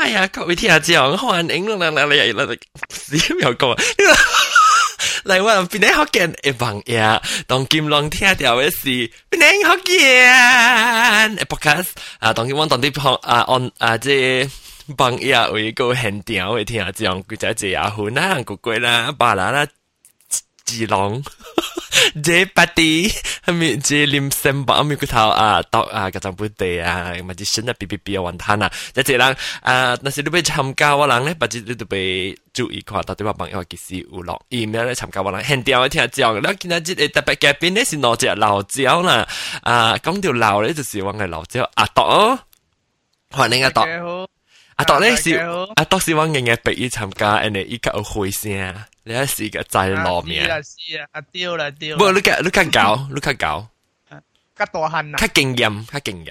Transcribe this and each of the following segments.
哎呀，各位聽下之後，歡迎你死又講，嚟我邊啲學見一幫呀，當金龍聽到嘅是邊啲學見podcast 啊，當金龍當啲旁按即幫呀為個現場嘅聽下之後，佢就係阿หุ่น啦、古鬼啦、巴拉啦。จีลองเจปาตีมีเจลิมเซมบะมีกูเท้าตอกกระจังปุเตมาจิฉันปีวันทันจะเจรังนั่นสิดูไปทำกาวหลังเนี่ยปัจจุบันดูไป注意看到底話朋友幾時有落 email 咧參加我啦，現掉一聽講，แล้ว今日即特別嘅邊咧是攞隻辣椒啦，講條辣咧就是話係辣椒阿朵，歡迎阿朵。阿朵咧是阿朵是往嘅嘅俾伊參加，人哋依家有回聲，你係是個在落面。 是啊，丟啦。 不，你較搞， 較大漢啊， 較經驗。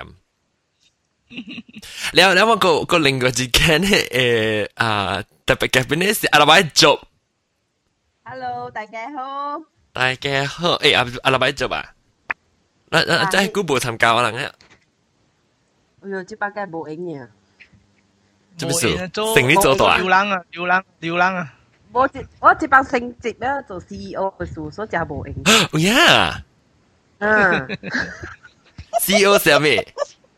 แล้วมันก็ลิงก์之間咧特別嘅邊咧是阿拉伯族。 Hello， 大家好。 大家好，阿拉伯族啊，嗱真係估冇參加可能咧。 哎呦，這把梗係冇影嘅。 做咩事？成年做到啊？ 流浪啊！ 我這幫升職咧做 CEO 嘅事，所以就冇影。 哦呀！CEO 係咩？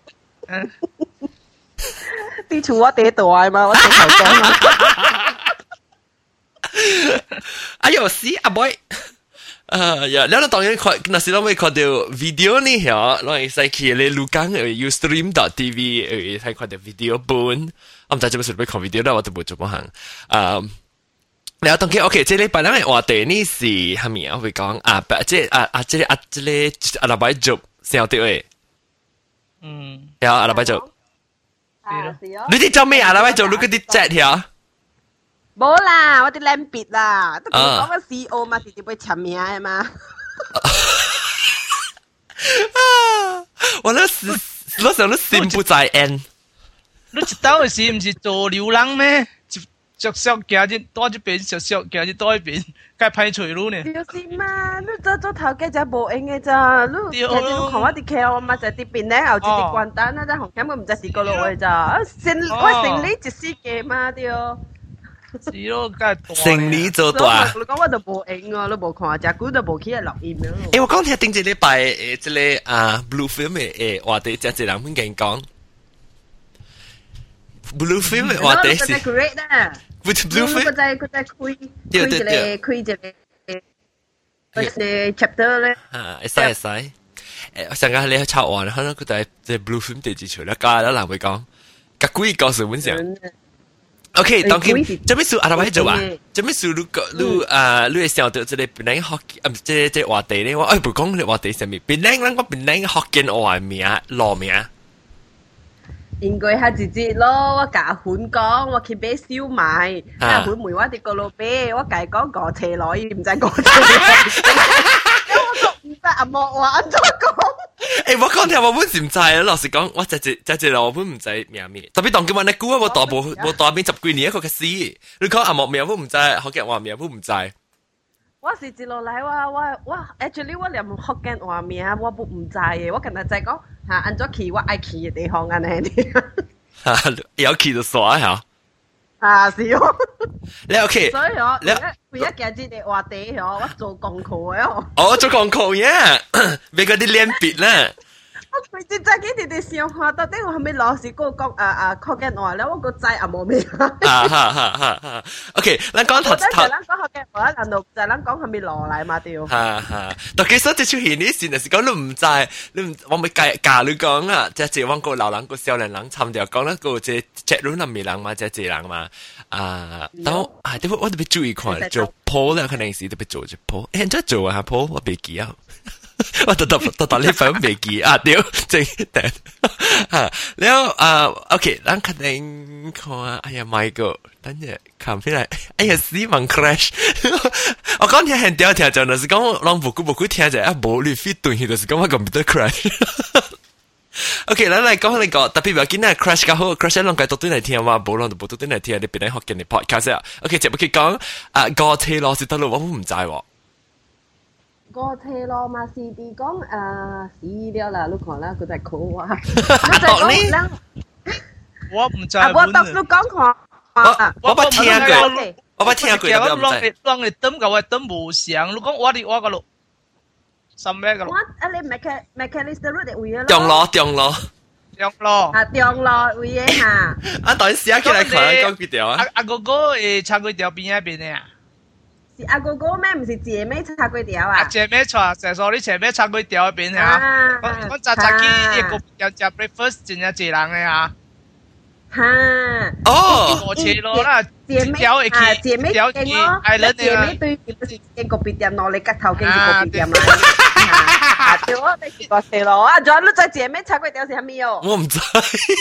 啲厝我地大嘛，我地頭講嘛。 哎呦，死阿 boy！呀，แล้ว當然看，那時เรา會看到 video 呢，嚇，เรา係使去你錄講Ustream.tv，睇看到 video 本。我唔知做乜事俾看 video 啦，我都冇做乜行。แล้ว當然 OK，即係禮拜咧話題呢是係咪啊？會講即係阿拉伯族先有啲誒。有阿拉伯族。你啲做咩阿拉伯族？你嗰啲 chat 呀？ 冇啦，我啲靚別啦，都同你講個 CEO 嘛，直接會簽名嘅嘛。 我想你心不在焉。 你一到時唔是做流浪咩？着行一多一邊，着行一多一邊，該排除路呢？ 就是嘛，你做頭家就冇用嘅咋，你看我啲客我嘛就啲邊咧，後接啲關單啦，但紅險我唔就試過落去咋，我成你一世嘅嘛對。 是咯，梗係成年做大。 你講我就冇影啊，你冇看，隻股就冇起嚟錄音咯。 我講聽頂一禮拜即係Blue Film 嘅話題，即係人會講 Blue Film 嘅話題是。With Blue Film， 佢就開 chapter 咧。 會使。上個你抄完，可能佢就即係 Blue Film 第幾出啦？家啦人會講，個鬼告訴本上。OK， 當然，做咩事阿拉伯做啊？做咩事你想到即係本來學即話題咧？我唔講你話題上面，本來我本來學見話名攞名。 應該係直接咯，我甲款講，我去買燒賣，甲款梅我哋個老闆，我計講個車來，唔知個車來。唔知阿莫話安怎講？ 我講聽我本時唔知啊，老實講，我只老本唔知名咩。特別當今晚你估我大邊10幾年一個嘅事，你講阿莫名本唔知，學嘅話名本唔知。 我是一路來我 actually 我連福建話名我不唔知嘅，我今日就係講嚇按咗去我愛去嘅地方安尼啲。 有去就耍嚇。 是哦。 你 OK？ 所以我為咗今日嘅話題我做功課嘅。 哦，做功課呀，俾嗰啲臉別啦。 我最真嘅哋想下，到底我係咪老師嗰個講福建話咧？我個仔阿冇咩。 OK，咱講頭。 咱講福建話，難道就咱講係咪落嚟嘛？對。 但其實即出現呢事，就是講你唔知，我咪教你講啊，即係往個老人個少年人參掉講啦，個即係亂南面人嘛，即係人嘛。但我特別注意看做 poll 咧，可能是特別做隻 poll，現在做啊 poll 我別記啊。我特呢份未記啊！屌，正定แล้วOK，咱肯定看啊！哎呀 ，Michael， 等陣看起來，哎呀，死亡 crash！ 我講聽很屌聽，就係講讓冇聽就啊冇你 fit 對，就是講我 computer crash。OK， 咱嚟講呢個特別要緊啊 crash 較好 ，crash 兩個都對嚟聽嘛，冇兩都冇都對嚟聽，你邊嚟學緊你 podcast 啊 ？OK， 接唔佢講個車咯，是得咯，我唔知喎。 個車咯嘛是啲講死了啦，你看啦，佢在哭啊！ 我唔知。 我讀你講看。 我捌聽過，我捌聽過， 我我唔知。 啷你等個話等無相，你講我個路，什麼個路？ 我你 Macalister Road 位咯。 中路。 中路。 啊，中路位嘅嚇。 啊，當寫起來看講幾條啊？ 阿哥哥誒，叉粿條邊一邊嘅啊？ 是阿哥哥咩？唔是姐妹叉粿條啊？ 姐妹叉，就係你前面叉粿條邊啊？我早起一個要食 breakfast， 真係濟人嘅啊！ 哈， 哦， 我切咯啦， 姐妹啊，姐妹店咯，姐妹對唔是一個別店咯，你吉頭經一個別店啦。啊，對我哋是個切咯，啊，仲有你在姐妹叉粿條是蝦米哦？ 我唔知，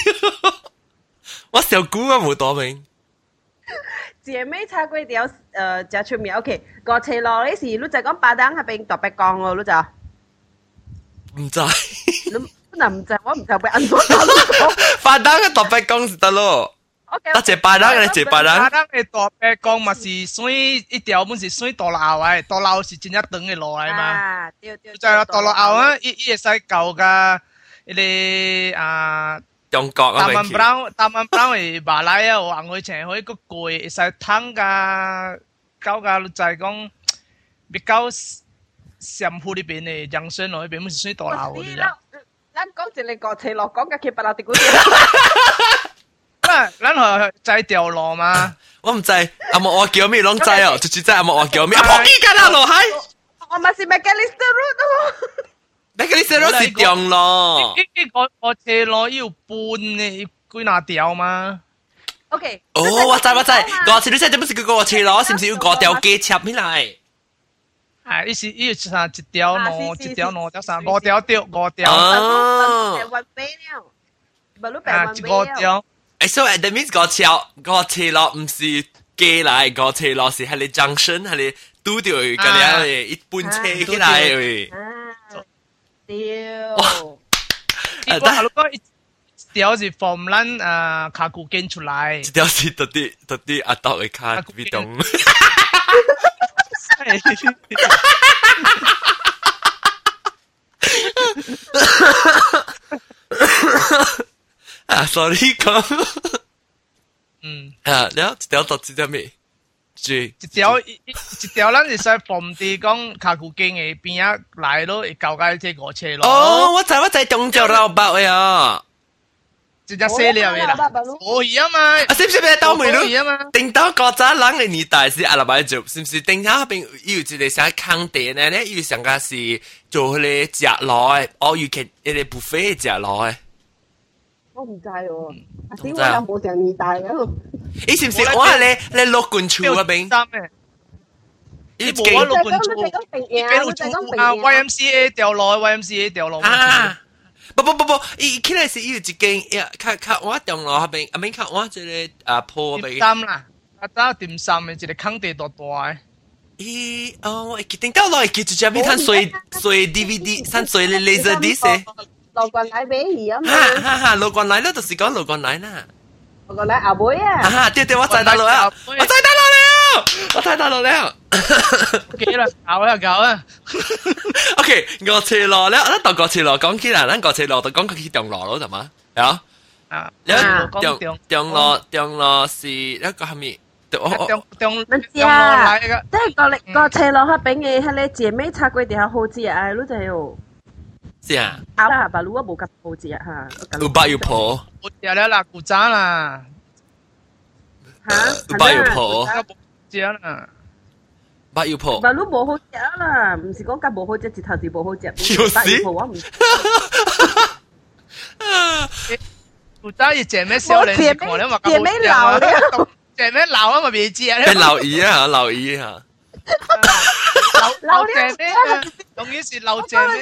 我小姑啊冇多明。 姐妹叉粿條就出名 ，OK， 個切咯，你是你就講巴當喺邊特別講咯，你就唔知。 你唔知，我唔知會按怎講。 巴當嘅特別講是得咯。得隻巴當嘅，隻巴當。 巴當嘅特別講嘛是水一條本是水大路嘅，大路是真一長嘅路嚟嘛。 啊，對。 就係大路後啊，伊會使舊嘅，迄個啊。 中國啊， 大曼堡嘅馬來啊，有紅去青去個貴，會使湯噶，搞個就係講比較上鋪呢邊嘅養生路呢邊，唔是水大路嗰啲啦。 咱講一個國際路，講嘅佢白老啲股票。 咱係在條路嘛。 我唔知，阿莫我叫咩攏知哦，就只知阿莫我叫咩，阿婆幾間啊路係？ 我咪是 Macalister Road 咯。 Macalister Road 是中路。 我斜路要半嘅幾哪條嘛 ？OK。 哦，我知，我知你真係點不是叫我斜路，是唔是要嗰條街插起來？ 係，伊是伊是一條路，一條路得啥？五條。 哦。 啊，五條。 所以 that means 嗰斜路唔是街來，嗰斜路是喺你 junction，係你拄到嗰啲一般車起來嘅。 屌！ 如果一條是from 咱卡古建出來， 一條是特啲阿斗嘅卡比東。啊，sorry 講。啊，แล้ว一條到幾點未？一條咱是使from啲講卡古建嘅邊啊來咯，會交解這個車咯。 哦，我知中州老伯嘅啊。 直接寫了嘅啦，可以啊嘛。 啊，是唔是到梅路？定到嗰陣人嘅年代是阿拉伯做，是唔是？定下邊有一個想坑地呢？咧有上個是做佢哋食落嘅，哦，有其一個 buffet 食落嘅。 我唔知喎，阿師我又冇上年代嘅。你是唔是？我係你落棍處嗰邊。 你冇我落棍處，你俾路處啊 ！YMCA 掉落 ，YMCA 掉落。 啊！不，伊起來是有一間呀，看我中路嗰邊，阿邊看我即個鋪嗰邊。 點心啦，打點心嘅一個坑地大大嘅。 咦？哦，我記到落去就只邊睇水 DVD， 睇水嘅 laser disc。 路棍奶俾伊啊嘛。 哈，路棍奶咧，就是講路棍奶啦。 路棍奶阿妹啊。 對，我知道了。我睇到了。 幾啦，搞啊。 OK， 我斜路咧，咱到個斜路講起來，咱個斜路就講去中路咯，係嘛？啊，中路是一個係咪？ 中路嚟嘅，即係個斜路嗰邊嘅係你姐妹叉粿條好食啊，你就係。 是啊。 啊，白鷺我冇咁好食嚇。 有白有婆。 我食了啦，古早啦。 嚇？ 有白有婆。 食啦。 白有婆。 白鷺冇好食啦，唔是講緊冇好食，直頭是冇好食。白有婆我唔。 古早要姐妹少年，姐妹老了，姐妹老啊嘛未食。 變老姨啊，老姨啊。 老姐妹啊，當然是老姐妹。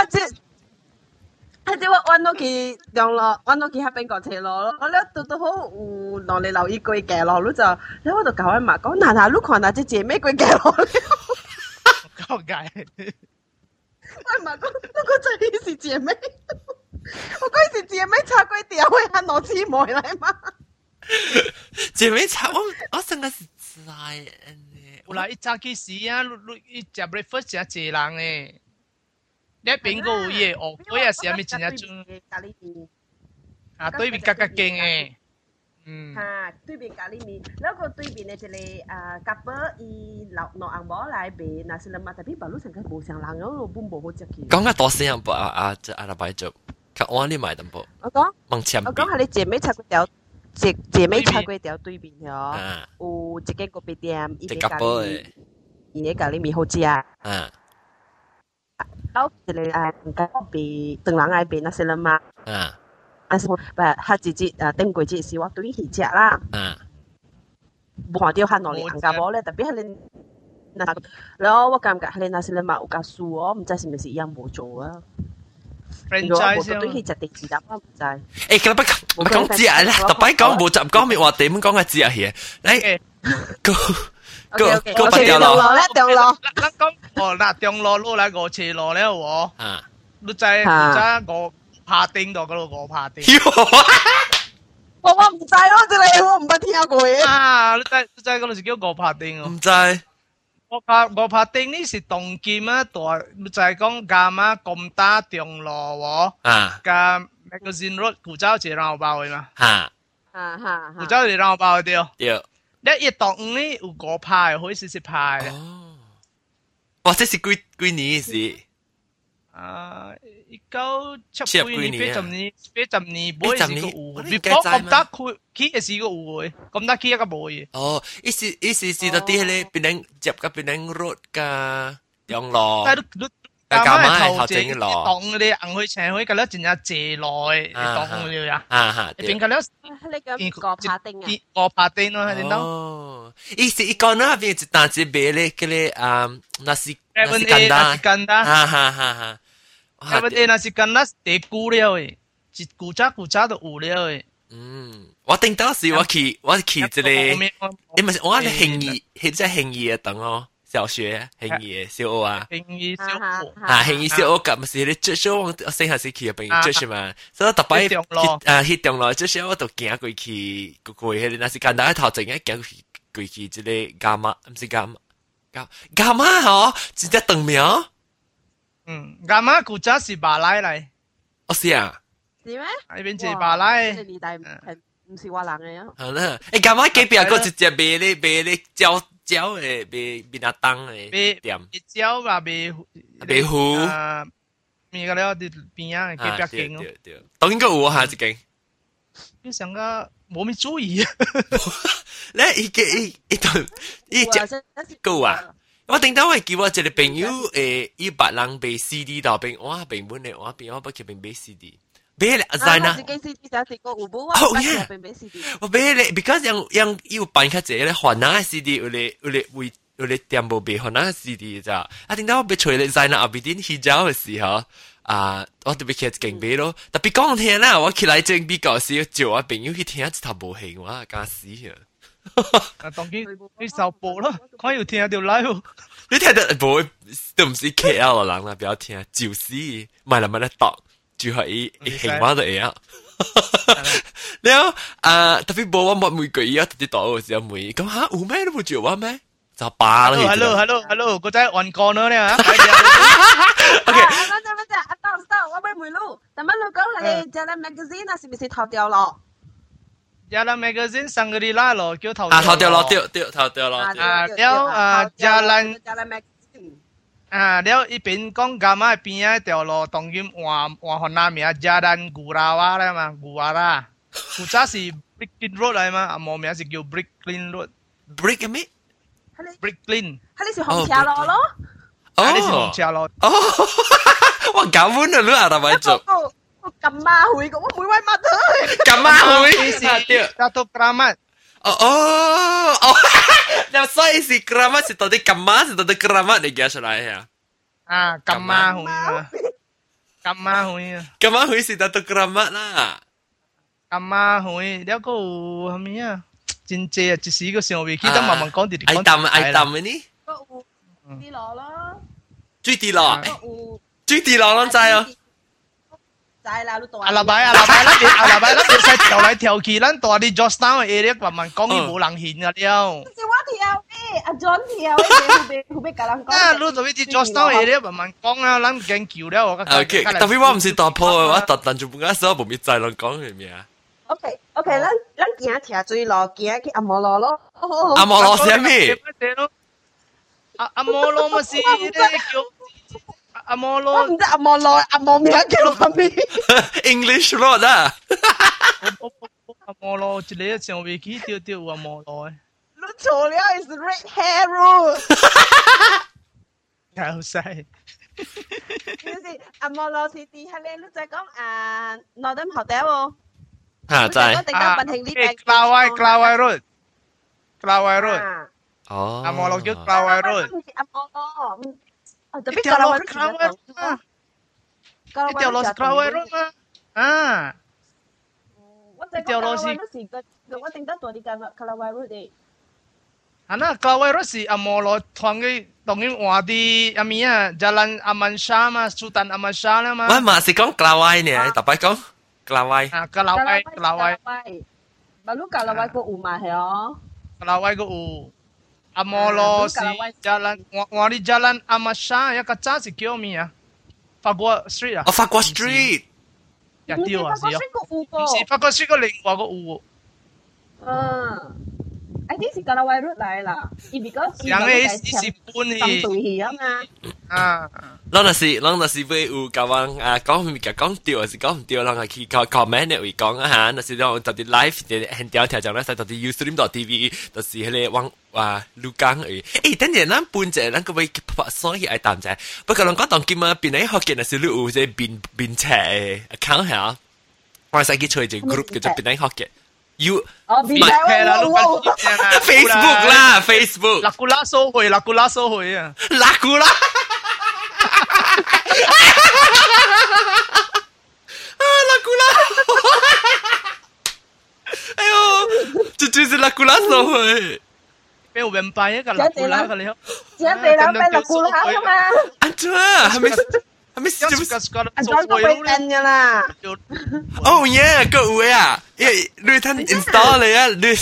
即我揾到佢上落，揾到佢喺邊個斜路咯。我咧都好有落嚟留意佢嘅路，你就你喺度教阿媽講，嗱，你看下隻姐妹佢嘅路。 搞解。 我媽講，那個真是姐妹，我講是姐妹叉粿條，會喺攞姊妹嚟嘛？ 姐妹叉，我真係是知嘅。 有啦，一早起時啊，你食 breakfast 食濟人誒。你邊個有嘢？哦，嗰日是咪真係做？啊，對面格格勁誒， 嚇對面咖喱麵，แล้วก็對面嘅一個couple伊落紅包來賣，那是啦嘛，但係馬路上佢冇上人，嗰個本冇好食嘅。 講下大聲不阿拉伯做，佢按你買淡薄。 我講， 望前邊。 我講係你姐妹茶粿條，姐妹茶粿條對面嗬，有一間咖啡店，伊嘅咖喱，伊嘅咖喱麵好食啊。แล้ว一個個賣當人來賣那是啦嘛。但是我他自己頂過節是我對佢食啦。冇看到佢攞嚟行家寶咧，特別係你嗱，然後我感覺係你那時你買有加數哦，唔知是唔是一樣冇做啊？如果冇對佢食第二粒，我唔知。 誒，咁不講節啦，特別講冇集講咩話點講嘅節嘢，嚟個掉落咧，掉落。 咱講嗱，中路路來五斜路咧喎。你知我。拍丁度嗰度我拍丁， 我唔知咯，真係我唔捌聽過嘅。 啊，你知嗰度是叫我拍丁哦？ 唔知。 我拍丁呢是動劍啊，大你就係講啱啊，咁打中路喎。加 magazine road 古州是讓我包嘅嘛？古州是讓我包嘅對。你一動呢有我拍，可以試試拍。 哦，哇！這是幾年事？ 1970年，80年，80年，每時個有。你講咁得佢嘅是個有嘅，咁得佢一個冇嘅。 哦，意思到啲咧，變成接個變成 road 嘅用路。 但係頭前當你硬去請佢，咁咧真係借來當佢呀。變咁咧， 你個拍丁啊？ 個拍丁咯，係點當？ 哦，意思一個呢邊一單子賣咧，嗰啲那是簡單， 哈。 Seven那是跟那地久了誒，一古早都有了誒。 我頂到時我去這裡，你咪我係興義，係在興義嘅等哦，小學興義嘅小學啊。 興義小學興義小學咁咪是你最少我細下時去嘅朋友最是嘛，所以特別去中路，最少我都行過去，迄那是簡單頭前嘅行過去這裡伽馬，唔是伽馬嗬，直接長苗。 啱啱古早是馬來嚟。 哦，是啊。 是咩？ 呢邊是馬來。 呢年代唔是華人嘅啊。 好啦，誒，啱啱隔壁個直接賣咧椒誒，賣阿當誒店。 賣椒嘛，賣糊。 咩個咧？啲邊啊，隔壁間咯。 對，當然個有下一間。 你上個冇咩注意啊？ 咧，伊隻個啊。我頂到係叫我一個朋友伊別人賣 CD 到邊，我平本嚟，我邊我不佢邊賣 CD，買嚟在哪？哦呀，我買嚟 ，because 樣要辦卡者咧，換哪 CD 有嚟店冇賣換哪 CD 咋？啊，頂到我俾除嚟在哪後邊啲洗澡嘅時候，我特別去勁買咯，特別講聽啦，我起來正比較少，就我朋友去聽一頭無興，我驚死啊！ 當佢受報咯，可以聽條 live。 你聽得冇都唔是 KL 嘅人啦，不要聽，就是咪啦咪咧讀，就係一興話都會啊。然後特別冇我冇每個月特別讀嘅時候每咁嚇有咩都冇做話咩？就罷啦。 Hello，個仔按過咗咧嚇。 OK。 stop，我俾梅路，但乜你講你Jalan Magazine啊，是唔是頭掉落 ？Jalan Magazine 上個禮拜咯，叫頭頭掉落，對頭掉落。 了Jalan Magazine 了一邊講幹嘛邊啊掉落，當然換河南名 Jalan Gurawa 啦嘛，Gurawa，古早是 Bricklin Road 嚟嘛，冇名是叫 Bricklin Road。Brick 咩 ？Bricklin。 係你是紅車路咯？ 哦，你是紅車路。 哦，我搞混咗啦，係咪做？ 咁馬會嘅，我每位乜都咁馬會是 Dato Kramat。 哦，那所以是 Kramat 是到底咁馬是到底 Kramat 嚟嘅出嚟呀？ 咁馬會啊，咁馬會啊， 咁馬會是 Dato Kramat 啦。 咁馬會，了個係咪啊？真正啊，一時個上位記得慢慢講啲。 愛淡嘅呢？ 啲落咯， 最啲落，最啲落啷知啊？ 阿拉伯那邊使跳來跳去，咱大啲 Georgetown 嘅 area 慢慢講，伊冇人現啊了。 是我跳嘅，阿 John 跳嘅，後邊甲人講。 啊，你做咩啲 Georgetown area 慢慢講啊，咱研究了我。 OK，特別我唔是大鋪嘅，我特登做半間手，冇咩再啷講係咩啊？ OK，咱咱行斜水路，行去阿摩罗咯。 阿摩羅是咩？ 阿摩羅咪是咧叫阿摩我羅， 唔知阿摩羅阿摩名叫做咩 ？English road 啊！ 阿摩羅一個上尾機掉阿摩羅誒， 你錯了 ，is red hair road。 搞晒。 就是阿摩羅是啲係咧，你就講Northern Hotel 喎。 嚇真係。 Kelawai Road。 哦。 阿摩羅叫Kelawai Road。 阿摩羅，特別一條路係 Kelawai Kelawai Road 嘛？一條路係 Kelawai Road 嘛？啊！ 一條路是我定得多啲Kelawai Road 嘅。 Ana Kelawai Road si Amolo tuangay tongin wadi amia Jalan Aman Shah ma Sultan Aman Shah lah ma. 喂，嘛是講 Kelawai 呢？特別講 Kelawai。 Ah Kelawai. Baru Kelawai ko uma he oh. Kelawai ko u. Amolo si Jalan wadi Jalan Aman Shah ya kaca si kyo mi ya. Fagua Street ah. Oh, Fagua Street。 Ya tiêu ah si yo. Si Fagua Fagua Street ko lingwa ko u. I think 是 Kelawai Road 嚟啦，because yang isi pun ni. 對起啊嘛。 啊， 咱若是要有甲人講物件講對，還是講唔對，咱去comment 嘅位講啊嚇，若是咱到啲 live 嘅現條條就咧，使到啲 Ustream.tv，就是迄個網錄講而已。誒，等陣咱搬者，咱個位所以愛談者，不過咱講當今啊，邊個學嘅若是你有即邊車嘅 account 嚇，我使去做一個 group 叫做邊個學嘅。You Facebook 啦 ，Facebook。 Lakula 收回啊！ 拉古拉，拉古拉，哎呦，这就是拉古拉收回。 俾我明白一個 Lakula 嘅你好， 只地諗俾Lakula啊嘛。 安怎啊？係咪？ 有時裝個背燈噶啦。 哦耶，個有啊，你睇 install 你啊，你。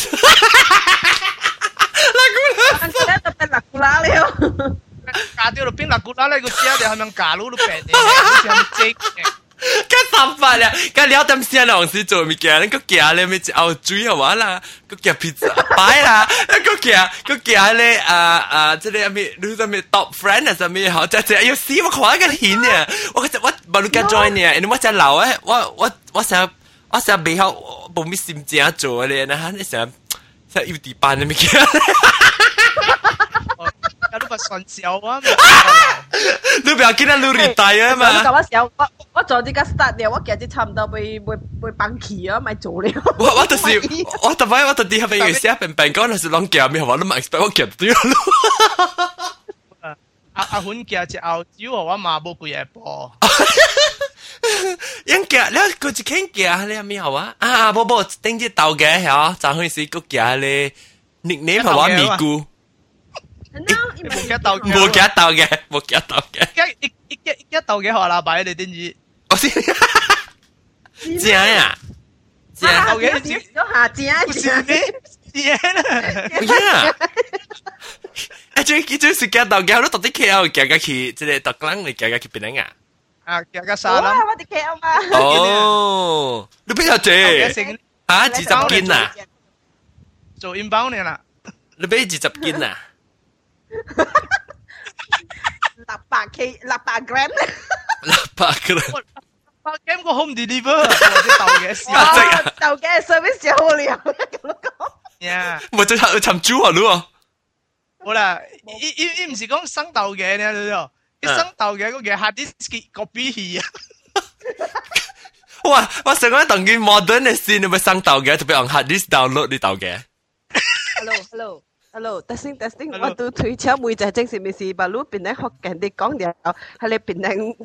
Ang kaya tapos Lakula了。 假掉落邊Lakula咧，個只係咪假佬都平嘅，好似係正嘅。 咁三法啦，咁了點先啦，時做物件，你個夾咧咪熬水好玩啦，個夾 pizza 擺啦，個夾咧即係咩？你做咩 top friend 啊？做咩好？就要死我看個片啊！我冇錄緊 join 呢，你我只留啊！我成背後冇咩心情做咧，那你成要地班嘅物件。 有啲咪順手啊！ 你不要見到你 retire 啊嘛！ 我時候我做呢個 start 了，我其實差唔多被放棄啊，咪做了。 我就是我特別我特啲係俾佢寫病講，係啷夾咩？我都唔 expect 我夾到咯。 阿款夾隻澳洲我嘛冇幾嘢波。 因夾咧，佢只傾夾咧咩好啊？冇頂隻豆嘅嚇，就開始個夾咧 nickname 係話咪咕。 冇夾豆嘅， 冇夾豆嘅。 一豆嘅學啦，擺你點知？ 我先正呀，正豆嘅正下正正啦。 呀！最是夾豆嘅，我都特啲 KL 夾嘅去，即係特登嚟夾嘅去邊樣啊？ 啊，夾嘅沙啦。 我哋 KL 嘛。 哦，你邊有借？嚇，20斤啊？ 做 inbound 嘅啦。 你俾20斤啊 600 gram ？600 gram。 800 個 home deliver， 或者豆嘅試下。 豆嘅 service 就好了，咁講。 呀， 冇就尋豬啊，咯。 好啦，唔是講生豆嘅，你睇到？一生豆嘅嗰個 hard disk copy 器啊。 哇！我成日當佢 modern 嘅先，你咪生豆嘅，特別用 hard disk download 啲豆嘅。 Hello, testing. 我都推車每隻正是咪是把路邊咧學人哋講嘢，係你邊咧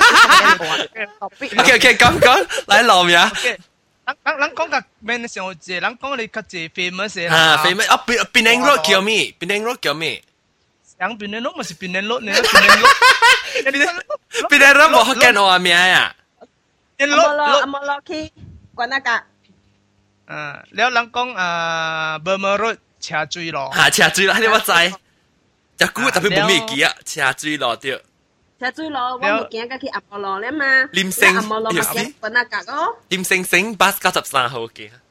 OK， 講嚟攞咩啊？ 咱講個咩上節，咱講你較濟 famous 啊 famous 啊，Penang Road 叫咩？ Penang Road 叫咩？ 像Penang Road 咪是Penang Road 呢 ？Penang Road 冇學緊我名啊阿摩羅去關那個。 แล้ว咱講Burma Road 車水路。 車水路，你我知。只股特別冇咩記啊，車水路對。 車水路，我冇見過去阿摩羅咧嘛。 廉城， 阿摩羅咪見關那個咯。 廉城巴93號嘅。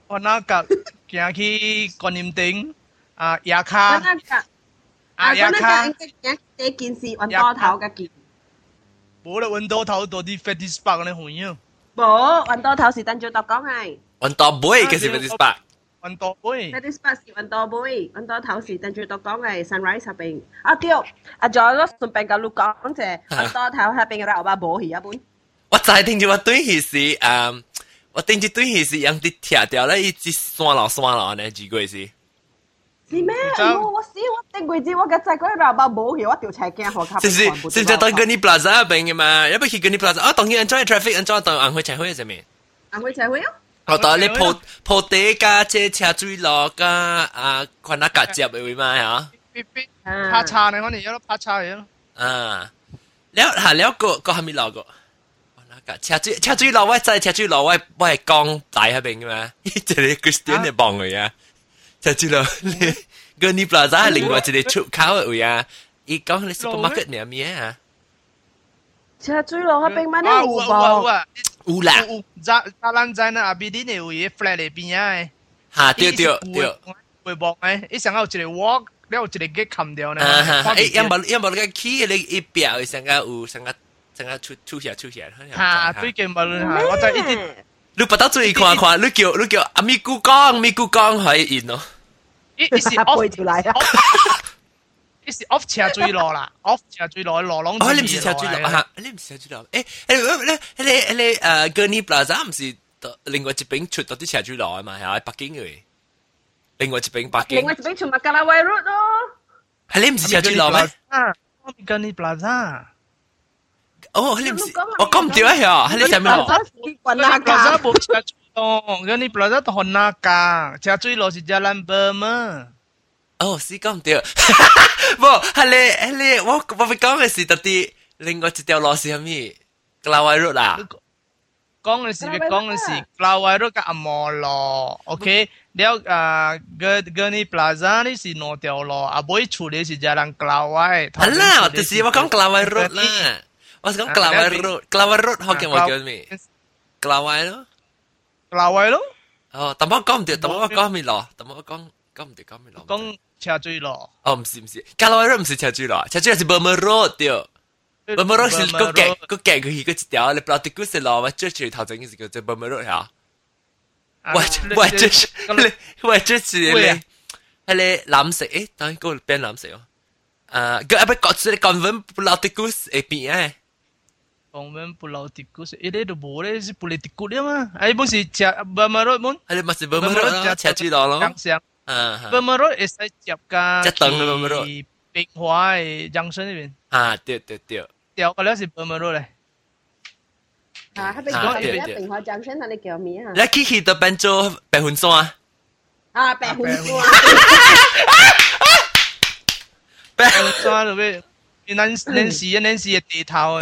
我那個行去觀音頂啊，牙卡牙卡， 第件事揾多頭嘅件， 冇啦，揾多頭多啲 Fatty Spark 咧會啊， 冇揾多頭是等住讀講係。 揾多杯嘅是 Fatty Spark。 揾多杯。 Fatty Spark 是揾多杯，揾多頭是等住讀講係 Sunrise 入邊。對，再攞順便教你講啫，揾多頭入邊嘅牛巴冇魚一本。 我就係聽住我對佢是我定住對佢是用啲貼掉咧，一直酸落呢幾句是。 是咩？我定位置我嘅仔嗰啲牛巴冇魚，我條斜鏡河卡。 是就當跟你 plaza 入邊嘅嘛，要不去跟你 plaza，當然 enjoy traffic，enjoy 當硬去斜開係咩？ 硬去斜開啊！ 我當你鋪地加車車水落加群下夾接嘅會嘛嚇？ 拍叉你可能有得拍叉嘢咯。 แล้วก็係咪落個？車水落我真係車水落我係江大喺邊嘅嘛？即係 Christian 嚟幫佢啊！車水落你個你 plaza 係另外一個出口嘅位啊！伊講你 supermarket 嚟咩啊？ 車水落喺邊乜呢？ 有啦， 咱在那阿邊啲呢位 flat 嚟邊啊？ 嚇對， 會บอก誒，一想到一個 walk，แล้ว一個 gate 冚掉呢？ 因為你個 key 你一表成個有成個出下。 嚇，最近咪我就一啲。 你不得注意看，你叫阿咪姑講可以贏咯。 一是 off 條嚟啊！一是 off 斜最落啦 ，off 斜最落落浪。 你唔是斜最落嚇？你唔是斜最落？你Gurney Plaza 唔是另外一邊出到啲斜最落啊嘛？係喺北京嘅。另外一邊北京。 另外一邊出麥加拉威 road 咯。 係你唔是斜最落咩？ 我 Gurney Plaza。 哦，你唔是，我講唔掉啊！係你上面落。 Plaza 冇斜最落，Gurney Plaza 到哪架？斜最落是Jalan Burma。 哦，是講唔掉。冇，係你，我講嘅是特啲另外一條路是咩？格拉威路啦。 講嘅是 Gawai Road กับอมร路 ，OK， แล้วGurney Plaza นี่是兩條路，啊，每處你是Jalan Gawai。 係啦，但是我講 Gawai Road 啦，我是講 Gawai Road，Gawai Road 學嘅我叫咩？Gawai 咯。 Gawai 咯。 哦，但我講唔掉，但我講咩路？但我講唔掉講咩路？ 講斜水路。 哦，唔是，Gawai Road 唔是斜水路，斜水係 Burma Road 對。Burma Road 是個夾佢一條，你 Platypus 嘅路，我最最頭整嘅是叫做 Burma Road 嚇。喂，這是咧，係咧藍色，誒，當然嗰邊藍色哦。個不過即係 Convent Platypus 誒邊誒。 Convent Platypus，呢度冇咧，是 Platypus 啊嘛，係本是斜 Burma Road 冇？ 係咪是 Burma Road 咯？斜水路咯。 Burma Road 係使接㗎。 一等嘅 Burma Road。 碧華嘅junction 嗰邊。 對。 掉個咧是 Burma Road 咧。 喺邊個喺邊個junction你叫咩啊？ 你去到變做白雲山。 白雲山。 白雲山嗰邊，Nancy 嘅地頭。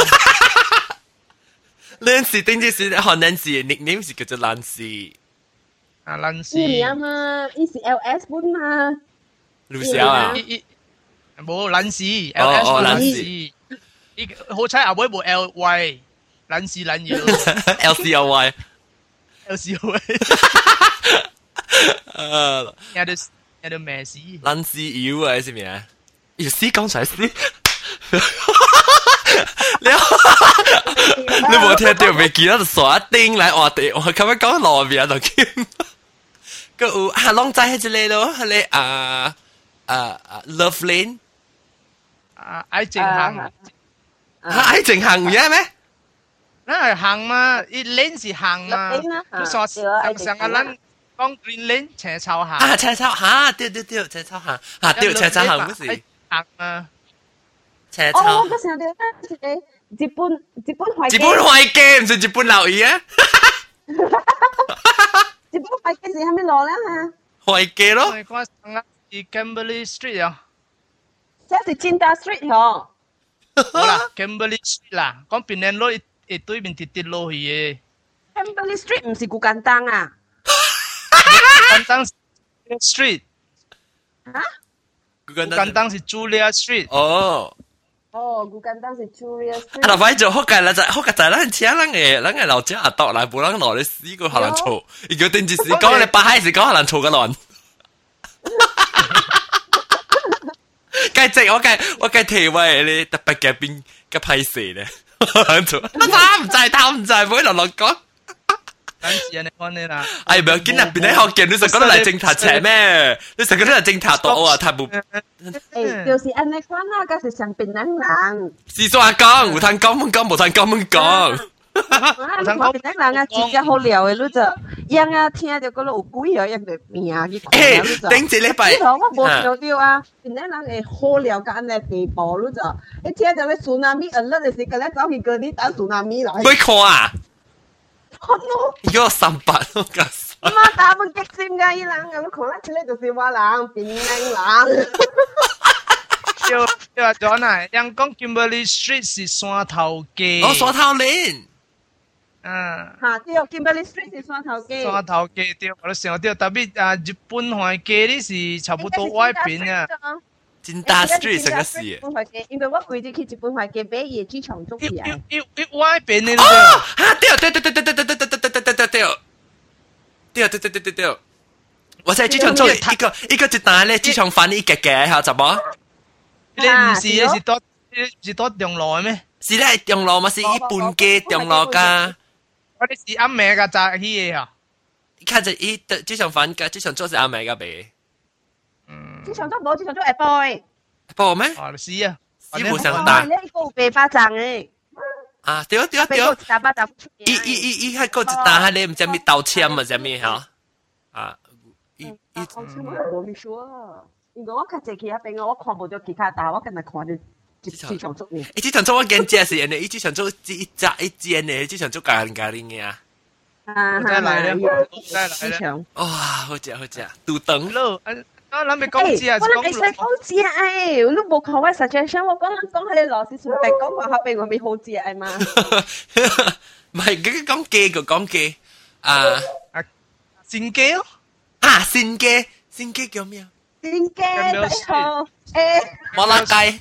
Nancy 定住是學 Nancy 嘅 nickname 是叫做 Nancy。 Nancy。啊嘛，呢是 LS 本嘛。 Lucia 啊。 冇Nancy ，Nancy。 好彩阿妹冇 LY， Nancy LCLY。 有啲咩事 ？Nancy U 啊，係咩啊？要死講出嚟死！你冇聽到未見到就傻一丁嚟我哋，我咁樣講路邊就見。個有long 仔喺這裡咯，係你Love Lane。 愛情行。 愛情行唔嘢咩？ 那係行嘛，一 lane 是行嘛，佢說上個 lane 講 green lane 斜草行。 啊，斜草嚇，對，斜草行嚇，對，斜草行嗰時行啊。 斜草。 哦，嗰時候你日本會計。 日本會計唔係日本留意啊？ 日本會計是喺邊度咧嚇？ 會計咯。 我上個 Kimberley Street 啊。 即係Cinta Street 嗬。 好啦 ，Kimberley Street 啦，講邊條路一對面跌落去嘅。 Kimberley Street 唔是古簡單啊。 簡單 Street。 嚇？ 古簡單是 Julia Street。 哦。 哦，古簡單是 Julia 啊，老闆做好計啦，就好嘅就係咱請咱嘅老姐阿度來，冇咱攞你死個可能嘈，如果定住時講你八閪時講可能嘈個亂。計直我計提位你特別嘅邊嘅批示咧，做貪唔制，唔會落講。 等時你講你啦。 哎，唔要緊啊！邊啲學見你成個嚟正塔斜咩？你成個都係正塔度啊！太冇。 誒，就是安尼講啦，嗰是上邊人。 是說講，有通講，冇通講。 我邊啲人啊，自己好聊嘅，你就樣啊聽到嗰度有鬼啊，樣就命去看啊，你就。 頂一禮拜。 我冇想到啊，邊啲人會好聊到安尼地步，你就一聽到咧蘇南米，你就是嗰咧走去嗰啲打蘇南米來。 會看啊？ 看咯。 如果300我講。 媽打冇激心㗎，依人咁看得出嚟就是我人，邊啲人。 叫咗啊！人講 Kimberley Street 是山頭街。 哦，山頭鏈。 嚇，對 ，Kimberley Street 是山頭街。 山頭街對，我都想到，特別日本海街呢是差不多外邊啊。 金大 Street 成個事。 因為我規日去日本海街買嘢機場做嘢。 外邊呢？ 哦，嚇對，我在機場做一個單咧，機場翻一格嚇，怎麼？ 你唔是多中路咩？ 是咧中路嘛，是一般嘅中路噶。 我哋是阿妹噶扎起嘅嚇。 看着一機場翻嘅，機場做是阿妹噶唄。 機場做冇，機場做下晡。 晡咩？ 哦，是啊。 是冇上單。 你個白巴掌誒。 啊，對。伊喺個一單，你唔知咩道歉嘛？知咩嚇？啊， 我冇咪說。因為我較濟去那邊，我看無到其他單，我今日看到機場做嘢。 機場做我見這是人哋，機場做一間嘅，機場做咖喱嘅啊。 再來機場。 哇，好食，杜登咯。我諗你講字啊， 我諗你講字啊，誒，你冇看我 suggestion，我講下你老師順便講話後邊我咪好字啊嘛。 唔係，佢講機個講機啊， 線機咯。 啊，線機叫咩啊？ 線機最好誒。 摩拉雞。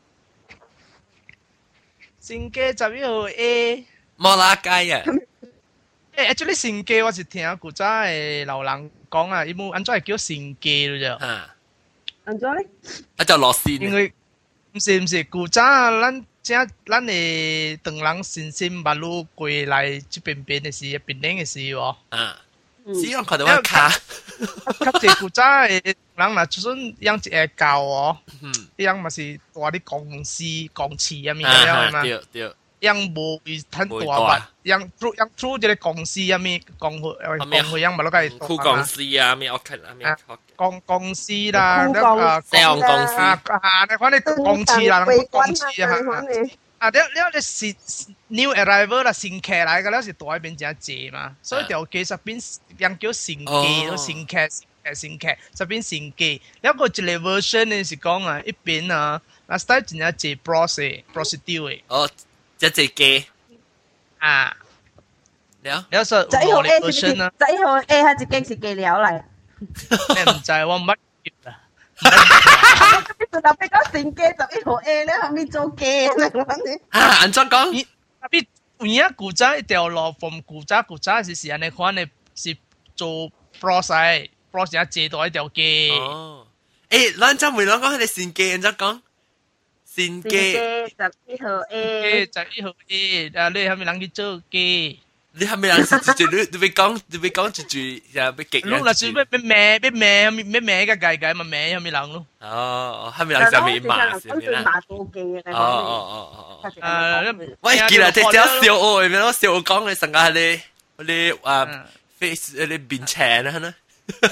線機11號 A。 摩拉雞啊！ actually 線機我是聽古早嘅老人講啊，伊冇安怎會叫線機咯啫。 安怎咧？ 啊就落線。 因為唔是古早咱嘅長人新生馬路過來這邊嘅時，邊嘅時喎。 只用看到我卡。 較濟古早嘅人嗱，就算養一個狗哦，養嘛是大啲公司公司啊面咁樣嘛。 對。 養無會很大吧？養 through 這個公司啊面公會養嘛，嗰個係酷公司啊，咩我看啊咩。 公司啦， 上公司你看你公司啦，公司啊。你是 new arrival 啦，新客來嘅，你是大邊真濟嘛，所以條機實邊人叫新機，新客，實邊新機。一個一個 version 呢是講啊，一邊啊，嗱 style 真係濟 procedure 哦，即係機啊，你說 11號 A 是11號 A 係一間是機料嚟， 你唔知我乜嘢啊？ 特別講新機11號 A 咧，後面做機咧， 安怎講？ 特別有影古早一條路，從古早是安尼款嘅，是做 process 啊，借到一條機。 哦，誒，咱怎會講係新機？安怎講？新機 11號 A， 11號 A， 啊，你係咪人去做機？ 你係咪人是你會講一句又要極？ 你嗱是咩嘅計嘛？咩係咪人咯？ 哦，係咪人就咪罵先啦？哦，喂，記啦，即係小我，咪咯，小我講你成個你啊 face 你面青啦，呢？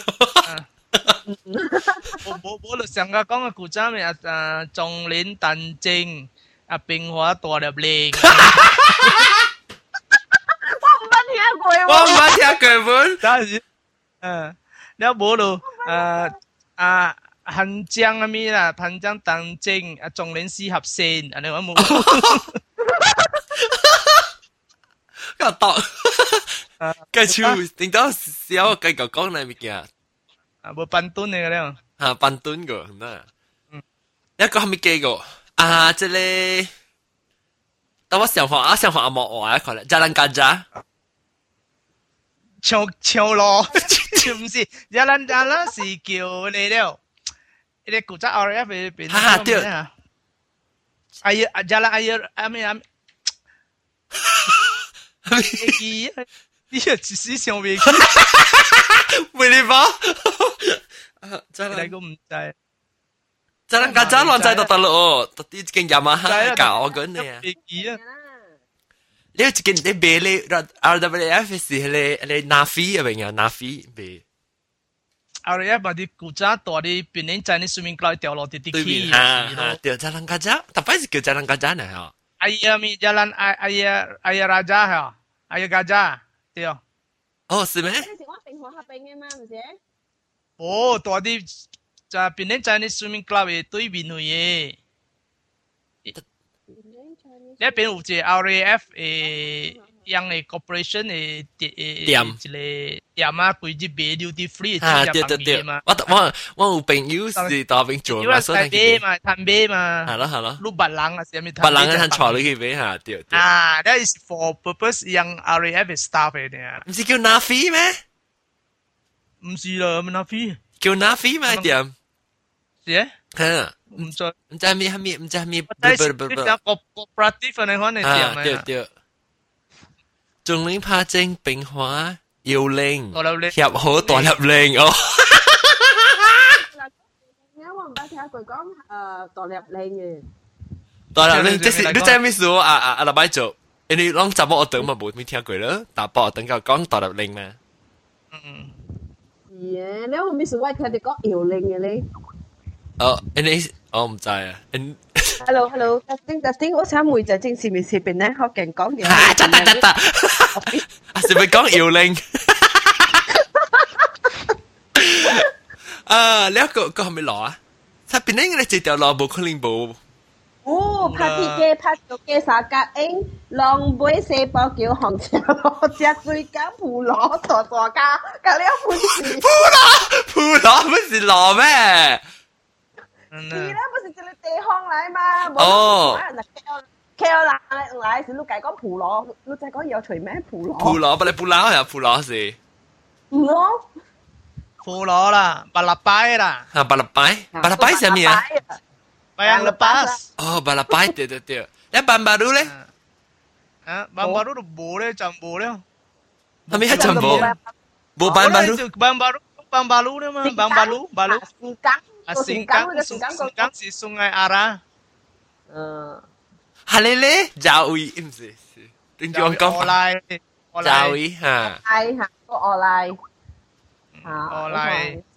我就上個講嘅古仔咪仲鏈鄧正變化大入嚟。 我唔捌聽過本。 但是，了無咯，韓江啊咪啦，韓江鄧正仲鏈四合線，安尼我冇。 個讀，繼續，頂到小繼續講嚟物件。 無半噸嚟嘅咧。 半噸個，嗱，一個係咪幾個？ 啊，这里，等我想法阿莫話一個咧，Jalan Gajah， 唱咯，唔是，Jalan Jalan 是叫你了，你古仔 RF 嗰邊， 哈哈對， 哎呀，Jalan 哎呀，阿咩阿，記，呢個只是上面， 唔你吧 ，Jalan 個唔制。 Jalan Gajah 亂仔到得咯，到啲件亞馬哈搞我緊你啊！你有件你買你 RWF 是你拿飛啊？邊啊？拿飛買 RWF 嘛啲古仔大啲，邊年在你水面高掉落啲啲氣啊！掉 Jalan Gajah，但係是叫 Jalan Gajah 呢？嚇 ？Ayah mi jalan ayah raja 嚇，ayah gajah 對。 哦，是咩？ 嗰陣時我平河合併嘅嘛，唔是？ 哦，大啲。就邊啲在你 swimming club 嘅對面去嘅，呢邊有隻 RAF 誒樣嘅 corporation 嘅店一個店啊，佢啲賣料啲 free 嘅對對對，我有朋友是喺邊做嘛， 所以買嘛，攤買嘛， 係咯係咯， 碌白冷啊，係咪？ 白冷係坐你去買下，對對。 啊，that is for purpose 樣 RAF 嘅 staff 嚟嘅， 唔是叫拿飛咩？ 唔是啦，唔拿飛， 叫拿飛咩店？ 是？ 嚇， 唔知咩？唔知咩？ 但係啲cooperative 嚟講你點啊？ 對對。仲領拍正冰花搖鈴，入好大入鈴哦。 我唔係聽佢講大入鈴嘅。 大入鈴，即是你真係咩事啊？老闆做，你講怎麼我等嘛冇咩聽過啦？但係我等佢講大入鈴咩？ 嗯。 係啊，你有咩事我聽你講搖鈴嘅你？ 哦，你我唔知啊。 Hello，testing，我想問就正是咪是邊咧？學勁講嘢。 啊，得，係咪講搖鈴？啊，你一個係咪攞啊？側邊咧，你直條攞冇可能冇。 哦，拍鐵機、拍腳機、沙格英、浪杯、四包叫紅茶螺、隻水餃、葡螺、大家，隔離有本事。 葡螺不是螺咩？ 是啦，不是這個地方嚟嘛？ 哦。 K.O. 來是你講講葡螺，你再講有除咩葡螺？ 葡螺，不你葡螺呀？葡螺是。 唔咯。 葡螺啦，巴拉拜啦。 啊，巴拉拜是咩啊 ？Bayang lepas。 哦，巴拉拜，對。你班巴魯咧？ 啊，班巴魯都冇咧，就冇咧。 係咪係就冇？冇班巴魯。 班巴魯咧嘛，班巴魯。Singkang si Sungai Ara. 係你咧？Jawi 唔是，點講講？Jawi 嚇。 係嚇，個我嚟。 Olay。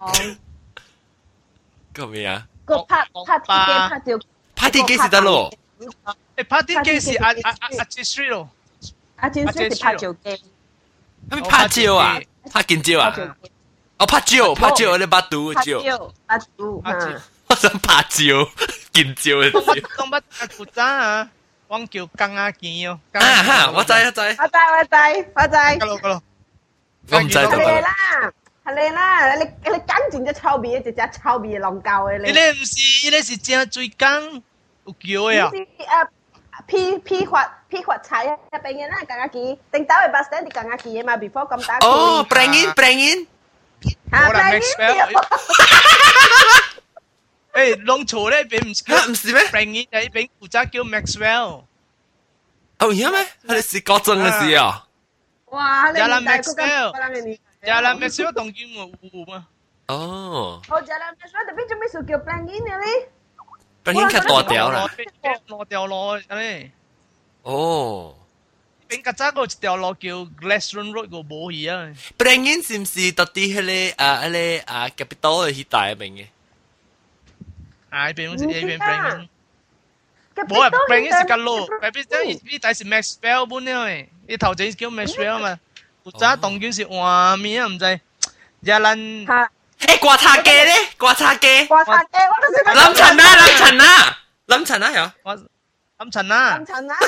個咩啊？ 個拍啲機是得咯。 誒，拍啲機是阿Street 咯。 阿戰師是拍照機。 係咪拍照啊？拍見照啊？哦，拍照，你把刀照。我想拍照，見照嘅照。 講乜古仔啊？我叫更加見哦。 啊哈，我知。 我知。 嗰度。 我唔知道。 係你啦，你跟住隻臭味，一隻臭味浪教嘅你。 你是正最梗有叫嘅啊？ 批發柴入邊嘅啦，更加見。定打去 bus stand 你更加見嘅嘛 ，before 咁打。 哦 ，bring in。 我嚟 Maxwell。誒，弄錯咧，邊唔是咩 ？bring in 喺邊負責叫 Maxwell。 哦，係咩？係是國政嘅事啊！ 哇，你 Jalan Maxwell 當叫我嘛？ 哦。 Jalan Maxwell 特別做咩事叫 bring in 嘅咧 ？bring in 係大條啦。 落掉落咧。 哦。 邊個揸個條路叫 Gladstone Road 個冇嘢啊 ？bring in 是唔是到啲嗰啲capital 嘅帶入面嘅？ 啊，邊好似邊 bring in。冇啊 ，bring in 是個路，邊呢底是 Maxwell 本咧，呢頭仔叫 Maxwell 嘛。古仔當卷是畫面啊，唔知。Jalan。 誒，刮擦機咧，刮擦機。 我都識。 lâm塵啊有。 lâm塵啊。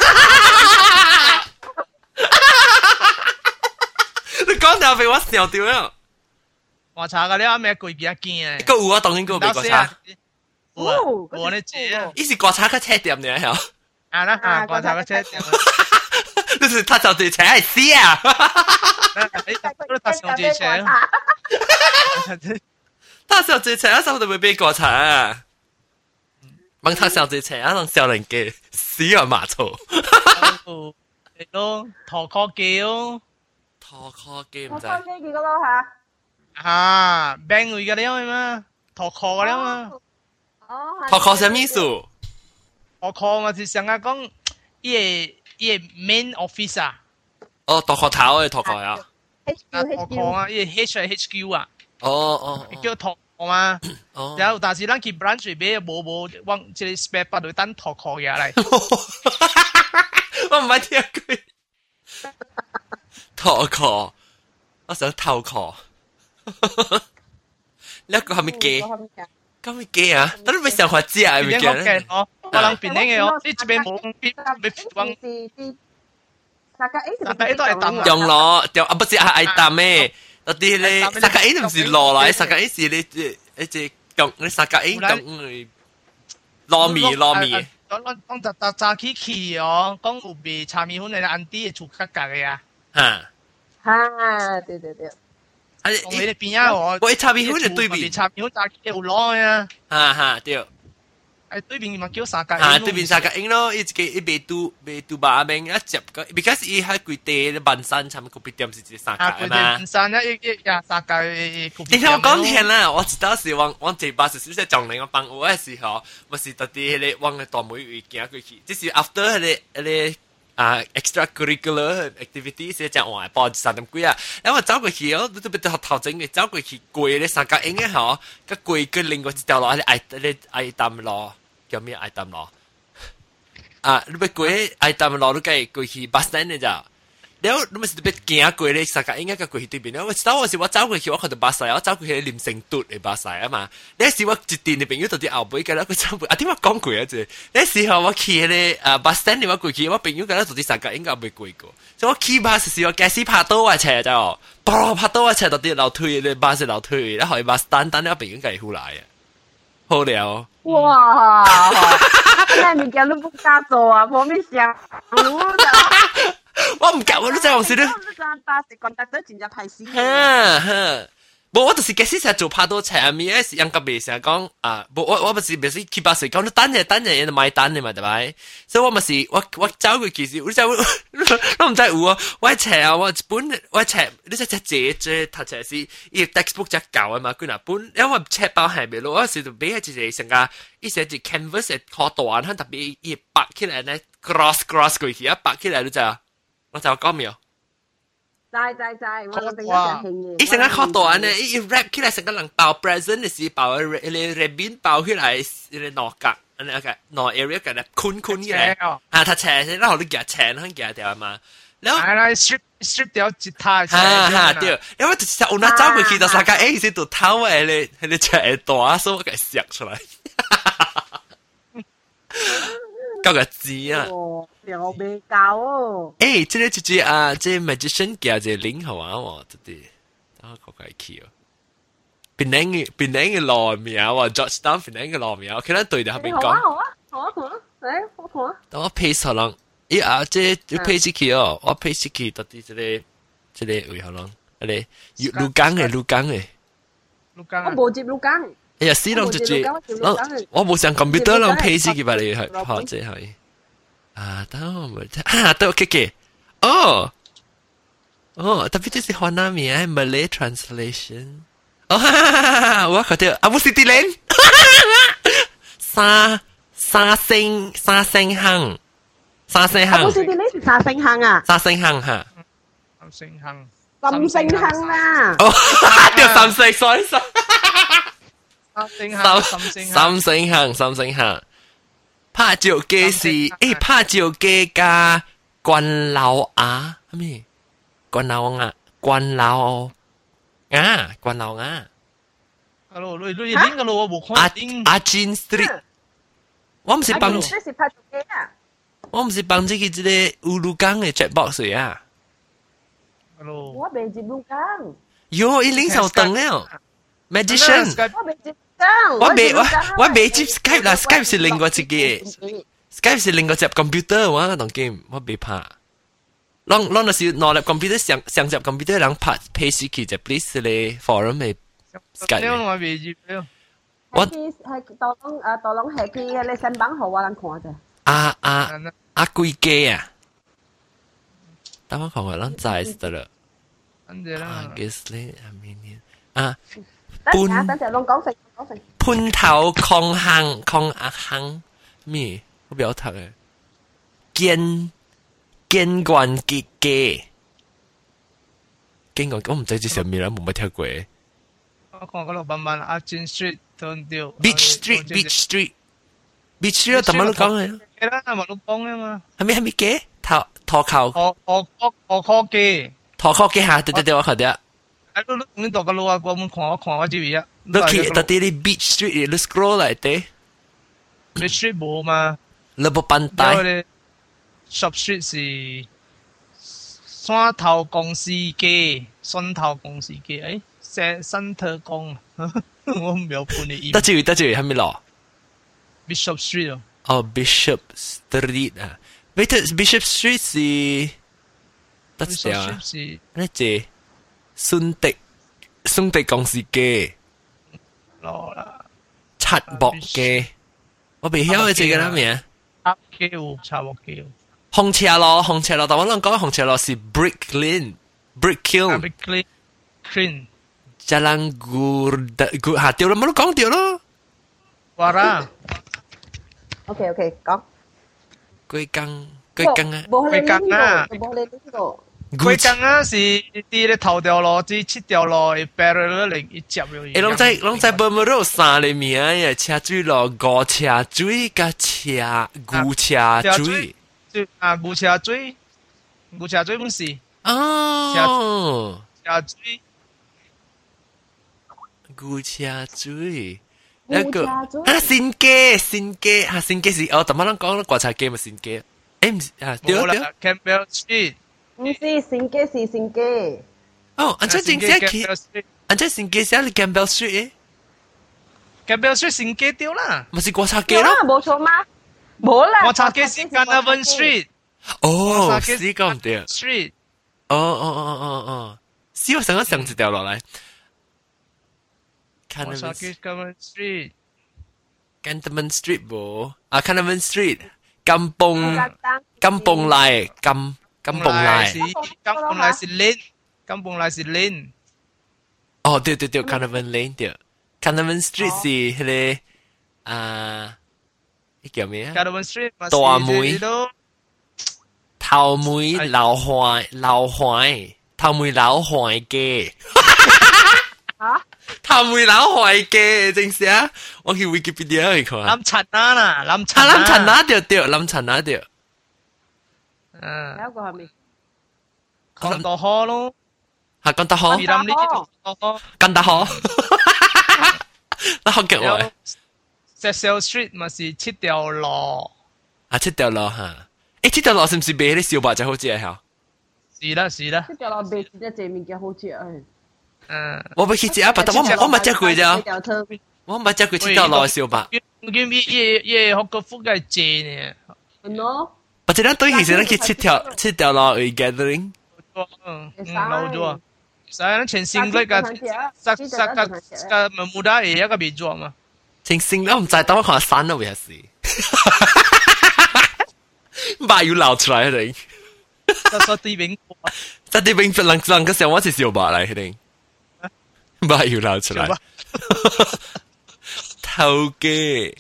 你講到俾我笑掉啦！ 我查個你阿咩攰幾驚啊？ 個有啊，當然個俾我查。 我咧姐啊， 伊是刮擦个车店呢，係啊啦啊，觀察個車店， 你是他就對車係死啊！ 你都搭上住車， 他上住車啊，手都會俾刮擦啊！問他上住車啊，讓小人嘅死啊馬槽。 係咯，陀殼機咯， 拖 call 機唔我知。 開機幾個咯嚇？ 啊，病會嘅了嘛，陀殼嘅了嘛， 拖 call 什麼意思？ 陀殼嘛是想啊講，伊個 main office 啊， 哦，拖 call 頭嘅拖 call 啊。 啊陀殼啊，伊個 HQ 啊， 哦， 叫陀殼嘛。 哦。 然後但是咱去 branch 買無往即個 spare part 度等陀殼嘢嚟。 我唔係聽過。拖 call，我想偷 call。你一個係咪機？咁咪機啊？等你咪上學知啊？係咪機咧？ 我諗邊嘅我，呢邊冇邊往大家都係抌用攞，就啊不是係愛抌嘅，嗰啲咧沙格 A 唔是攞來，沙格 A 是你只用你沙格 A 咁糯米。 講炸起哦，講有味炒米粉嘅安啲嘅做格格嘅啊。 嚇，對。 同你哋邊啊我炒米粉就對面， 炒米粉炸起有攞嘅啊。 對。 誒對面咪叫沙格。 對面沙格 A 咯，一未把名一接個 ，because 伊喺佢地半山，差唔多邊點是只沙格啊嘛。 半山一沙格。 你聽我講聽啦，我知道是往這巴士小姐撞嚟我幫我嘅時候，我是特啲迄個往個大妹位行過去，即是 after 迄個extracurricular activity 是講話報3點幾啊，然後我走過去哦，都別頭前嘅走過去過咧三角影嘅嗬，個過個另外一條路係愛淡路，叫咩愛淡路？啊，你別過愛淡路，你計過去 bus stand 嘅咋？แล้วมันจะเป็นเกียร์กุยเลยสักการ์ก็กุยที่เป็นแล้วว่าเจ้าสิว่าเจ้ากุยคิดว่าเขาจะบาสายแล้วเจ้ากุยริมเซ็งตุดไอ้บาสายอ่ะมาแล้วสิว่าจิตตินเป็นอยู่ตัวที่เอาไปกันแล้วก็เจ้าอ่ะที่ว่า講กุยอ่ะจีแล้วสิว่าว่าขี่เลยบาสแตนนี่ว่ากุยคิดว่าเป็นอยู่กันแล้วตัวที่สักการ์ก็ไม่กุยกู所以我ขี่บาสสิว่าแกสิ拍到啊車จ้าปลอ拍到啊車ตัวที่เรา推เลยบาสเรา推แล้วหอยบาส單單แล้วเป็นอยู่กันหูหลายอ่ะ好了哇！那你講都不加做啊，冇咩想路的。 我唔夠，我都真係有時都。 巴士講得都真係太死。 冇，我就是假使成日做拍到車面，係人家別成日講啊，冇我咪是別是去巴士講，你等嘢就買單嘅嘛，對咪？所以我咪是我走過其實，我就我唔知有啊，我車啊，我本我車，你只借讀車是伊 textbook 只舊啊嘛，佢嗱本，因為車包係咪咯，我時就俾一隻成個一隻隻 canvas 嘅可短，佢特別一白起來咧 cross 過去，一白起來你就我就講咩？ 在，我哋一齊興嘅。 伊成個靠短咧，伊 wrap 起來成個人包 present 嘅時包個 ribbon 包起來，個內角，那個內 area 嘅咧坤起來，啊，他斜先，然後你夾斜，佢夾掉嘛，然後係啦 strip 掉吉他， 對，因為就是我那走過去就三個 A 先到頭誒，你斜大，所以我給削出來，夠個字啊！ 又未夠哦！ 誒，這個就是啊，這 magician 叫這領好啊，我這啲，等我講個起哦。檳城嘅路名喎 ，Georgetown 檳城嘅路名，我見到對住後邊講。 好啊，誒，我看啊。 等我配上人，咦啊，這要配起去哦，我配起去到底這個為何人？嗰啲鹿港嘅。 鹿港。 我冇接鹿港。 哎呀，死人就接，我冇上 computer 人配起去吧，你係學這係。啊，等我咪啊，都 OK， 哦，tapi 這是華南名 Malay translation， 哦，我覺得啊，唔是啲人，沙聲行， 唔是啲人是沙聲行啊， 沙聲行嚇， 三星行啊， 哦，叫三星 ，sorry， 三星行。拍照機是拍照機加關老鴨咩？關老鴨。 Hello，你拎個路我冇看。 阿 Jean Street， 我唔是幫，我唔是幫這個烏魯港嘅 checkbox 啊。 Hello， 我未接鹿港。 喲，伊領手燈了 ，Magician。 我未接。 我未接 Skype 啦 ，Skype 是另外一個 ，Skype 是另外一隻 computer 我嗰種 game 我未拍。啷那時攞嚟 computer 上隻 computer 人拍 page 去就 please 咧 forum 嘅 Skype。 我未接了。 係到攏係佢你身板好啊，人看啫。 貴機啊！等我看看，咱知得了。Obviously，I mean 啊， 等陣，攏講成。 潘頭抗衡咩？我表讀嘅堅冠嘅機，堅冠我唔知係咩啦，冇乜聽過。 我看嗰度慢慢阿金 Street 對掉。 Beach Street， 我點樣講嘅？ 係啦，咪都講嘅嘛。 係咪機？拖扣。 我科技。 拖扣機下，對，我看到。 你讀個路啊，我看我知嘢。 你去到啲 Beach Street，你 scroll 嚟啲。 Beach Street 冇嘛？ 你冇辦帶。 Shop Street 是山頭公司機，山頭公司機，新特工，我唔有判你意。 得住，係咪咯 ？Bishop Street 哦。 Bishop Street 啊 ，Bishop Street 是得咗啊？呢隻順德公司機， 攞啦， 七博機，我未曉嘅這個咩啊？ 插木機。 紅車咯，但我諗講紅車咯是 Brick Kiln。Jalan Gur 下掉啦，冇都講掉咯。 話啦。 OK，講。 龜缸啊。 龜缸啊是啲咧頭條咯，啲切條咯，白咗嚟一接咗。 攏在本冇有三個名嘅車水咯，牛車水加牛車水。 牛車水唔是。 哦。 車水。 牛車水。一個新機是哦，但係咱講國產機咪新機。誒唔是啊，對。 Campbell Street。 唔是新機。 哦，安怎新機去？安怎新機寫係 Campbell Street？Campbell Street 新機掉啦。 咪是國產機咯？ 冇錯嗎？冇啦。 國產機是 Carnarvon Street。 哦，是咁對。 Street。 哦。是我想一條落嚟。 Carnarvon Street。 Cantonment Street 冇啊 ，Cantonment Street。金崩來。金崩來是 Lane。 哦，對 ，Cantonment Lane 對 ，Cantonment Street 是迄個呢叫咩啊 ？Cantonment Street 大梅頭梅老槐嘅。 嚇？ 頭梅老槐嘅，正是啊！我去 Wikipedia 去看。 lâm陳啊， 對。lâm陳啊對。 有一個係咪？ 講到好咯。 係講得好。講得好。那好嘅話。 Cecil Street 咪是七條路。 七條路嚇。七條路是唔是賣啲小白就好食嚇？ 是啦。 七條路賣一隻物件好食誒。 我未去食啊，但我冇食過咋。我冇食過七條路嘅小白。 我見嘢學個福嘅正呢。 喏。 或者咱對其實咱去七條路去 gathering。 老咗。Saya chensing like sak muda ya ka biju ma. Chensing 我唔知，等我看山咯，還是。把要流出來一定。 實啲餅， 實啲餅人個時候我是小白嚟一定。把要流出來。頭嘅。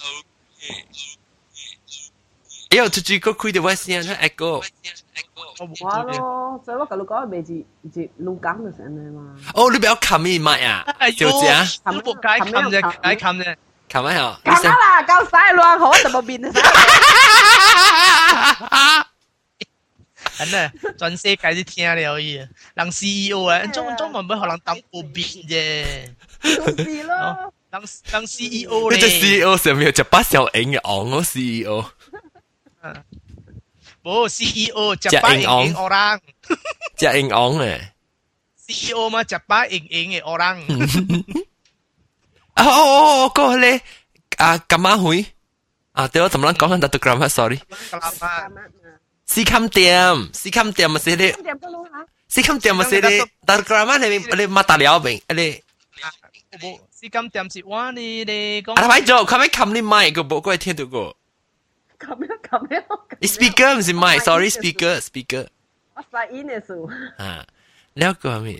哎呦，出去個開條聲，佢 echo。 哇咯，所以我跟你講，未是錄講就成嘅嘛。 哦，你不要冚咪麥啊，小姐。 冚啫。 冚乜呀？ 冚啦，夠晒亂好就冇變晒。 真啊，全世界都聽了伊，人 CEO 啊，中文唔學人當有變啫。 就是咯。 人 CEO 咧。 你隻 CEO 上面有隻把小影嘅昂咯 CEO。 冇 CEO 隻把影影orang， 隻影昂誒。 CEO 嘛隻把影影嘅orang。 個咧咁啱會對我怎麼講緊特gram sorry。四襟店咪是你，四襟店咪是你，特 gram 你乜大料明你？ 四襟店是話你講。 啊，咪做，佢咪冚你麥個冇，我聽到過。 咁樣。 speaker 唔是麥 ，sorry speaker。 我發音嘅數。 แล้วก็มี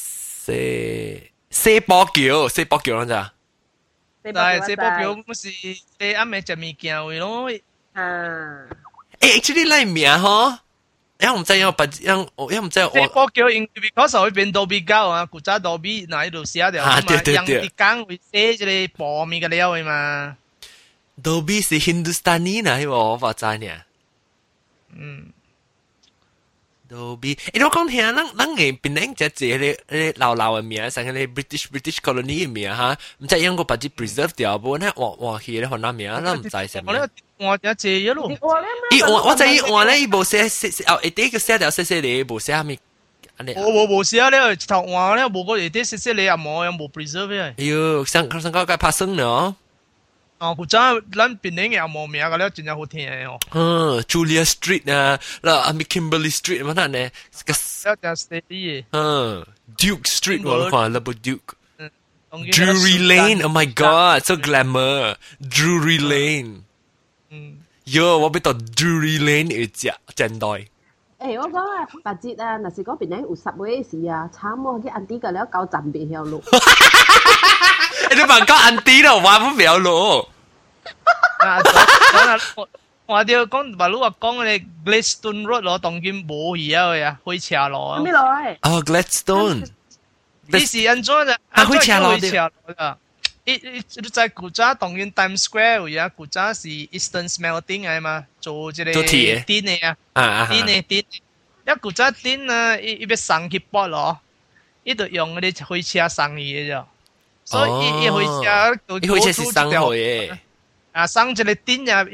四波橋啦咋？ 但係四波橋唔是你啱咪食物件位咯。 actually 嚟名嗬，因唔知因唔知四波橋因為嗰時候變到比較啊，古早到比嗱喺度寫掉嘛，人哋講會寫住你薄面嘅料嘅嘛。 Dolby 是 Hindustani นะ，我發知呢。Dolby，我講聽，咱嘅邊領只字你老嘅名，成個你 British colony 嘅名哈，唔知用個把啲 preserve 掉，不過咧換去咧換哪名，咱唔知什麼。 我只字一路。 我知換咧，伊無寫第一個寫掉寫你，無寫咩？ 冇寫咧，頭換咧冇個啲寫你又冇又冇 preserve 嘅。 喲，上個拍生咯。 古早咱邊領又冇名嘅咧，真係好聽嘅哦。 Julia Street 啊，啦Kimberley Street 乜嘢？ 有隻 steady Duke Street 我看，那部 Duke。Drury Lane，Oh my God，so glamour。Drury Lane。喲，我俾到 Drury Lane 要食真代。 我講啊，白節啊，嗱是講邊領有10位時啊，慘喎，啲安迪嘅了搞站邊條路。 你問講安迪咯，話唔條路。 我哋講話，如果講你 Gladstone Road 咯，當今冇嘢嘅，開車路啊。 咩路啊 ？Gladstone。 你是安怎就？ 開車路啊！你在古早當今 Times Square 有古早是 Eastern Smelting 嘅嘛，做這個電嘅啊，電嘅。一古早電啊，伊要送去駁咯，伊就用嗰啲開車送嘢啫。所以一回家就一回家是生活嘅， 生一個點呀，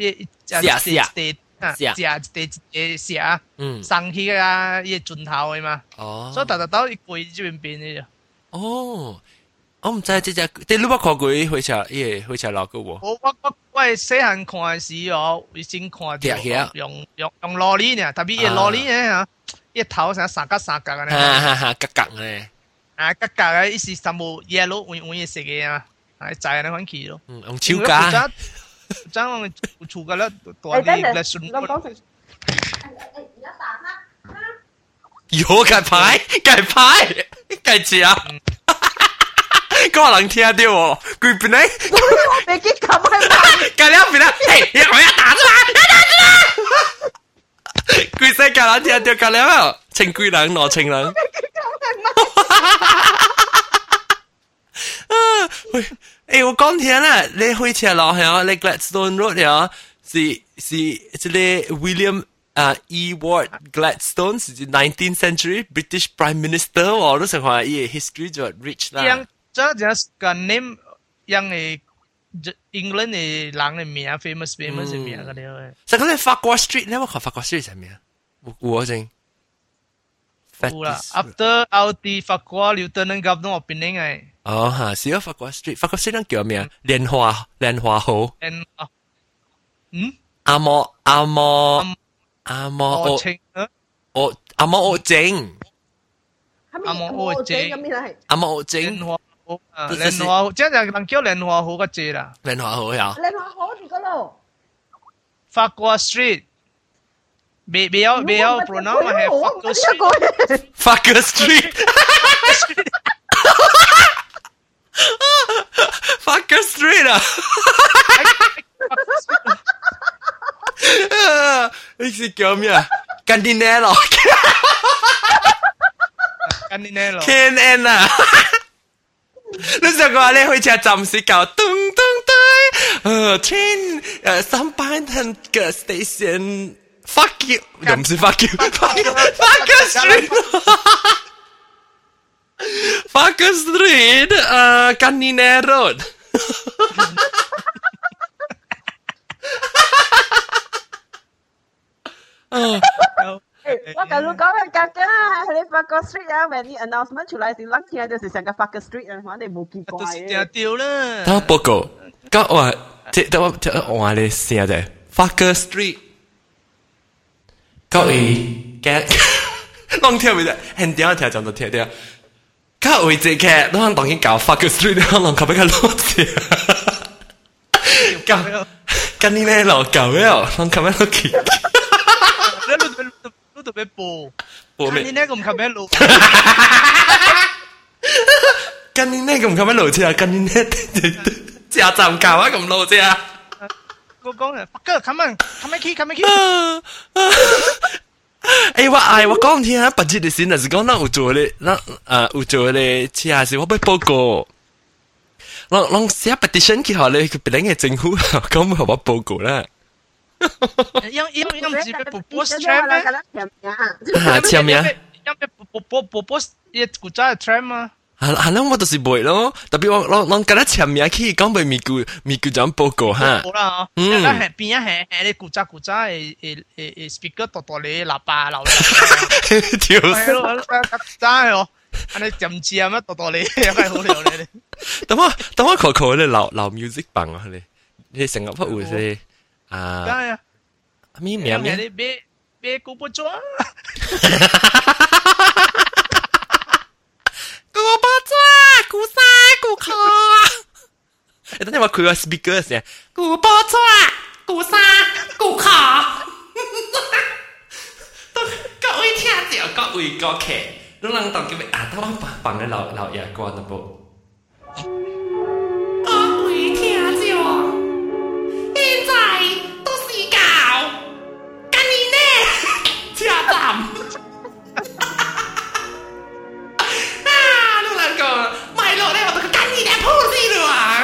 寫，生起啊，一轉頭嘅嘛，所以特到一過呢邊嘅啫。我唔知即只，你冇看過回車，回車路嘅喎。 我細漢看時哦，已經看到用羅哩呢，特別羅哩呢嚇，一頭成三角嘅呢， 格咧。 格嘅意思全部 yellow 換嘢食嘅啊，係就係你款氣咯。 用超價。 將我出嘅咧，多啲嚟順。 有計牌，計字啊！嗰個人聽到喎，佢邊咧？ 我未記咁係嘛？ 計兩邊啦，嘿，我要打出來！佢識計人聽到計兩啊，情貴人羅情人。喂，我講聽啦，你開車路係你 Gladstone Road 係是這個 William Ewart Gladstone 是 19th century British Prime Minister 我都想話伊嘅 history 就 rich 啦。 樣這就是個 name 樣嘅 England 嘅人嘅名 famous 嘅名嗰啲嘅。 實嗰啲法國 street 你有冇看法國 street 係咩啊？我正。 有啦 ，after 奧地法國 Lieutenant Governor 我邊嘅。 是啊，法國 street 叫咩啊？蓮花號。阿莫澳正。阿莫澳正。 蓮花即係人叫蓮花號個字啦。 蓮花號呀。 蓮花號是個路。 法國 street。未有 pronoun 係 Fucker Street。Fucker Street 啊！你是叫咩啊 ？Cantinello。Can 啊！你想講你開車站時搞咚咚咚，train 3班嘅 station。Fuck you， 又唔是 fuck you，Fucker Street，Fucker Street， Canine Road。 我跟你講嘅格嘅啦，你發個 street 啊，when 啲 announcement 出嚟時，諗起來就是成個發個 street 啊，反正冇奇怪都是嘅。 掉啦。 等我報告，咁我即我話你寫啫 ，Fucker Street， 各位嘅，啷聽唔得？很屌聽就聽掉。各位這個，啷當然搞 Fucker Street，啷靠邊個攞字？跟你咩老搞咩哦？啷靠邊攞去？ 你特別播， 播咩？ 你呢個唔靠咩路？ 跟你呢個唔靠邊路車啊？跟你呢車站搞啊咁路車啊？ 我講啊，fucker，come on，come on key，come on key。 誒，我講聽啊，不知你先，是講咱有做咧，有做咧，車係我要報告。讓寫 petition 去好咧，佢別人嘅政府講唔好我報告啦。 因自己播 post tram 咩？ 簽名。 因播 post 一古仔 tram 啊。 係啦，我就是袂咯，特別我跟他簽名去講袂咪句咁報告哈。 好啦，邊啊係你古仔誒 speaker 大大你喇叭流。 條係咯，真係哦。安尼點知啊？乜大大你又係好料咧？ 等我考咧老 music 棒啊你成日不會是啊？ 梗係啊， 咩名？ 你別古不裝。 古不裝，古沙古卡。誒，等陣我開個 speaker 先。古不裝，古沙古卡。各位聽著，各位歌客。你能當叫咩啊？等我放咧老爺歌那部。各位聽著，現在都是搞，跟你呢車站。你能講買落咧，我都跟你呢鋪子啦。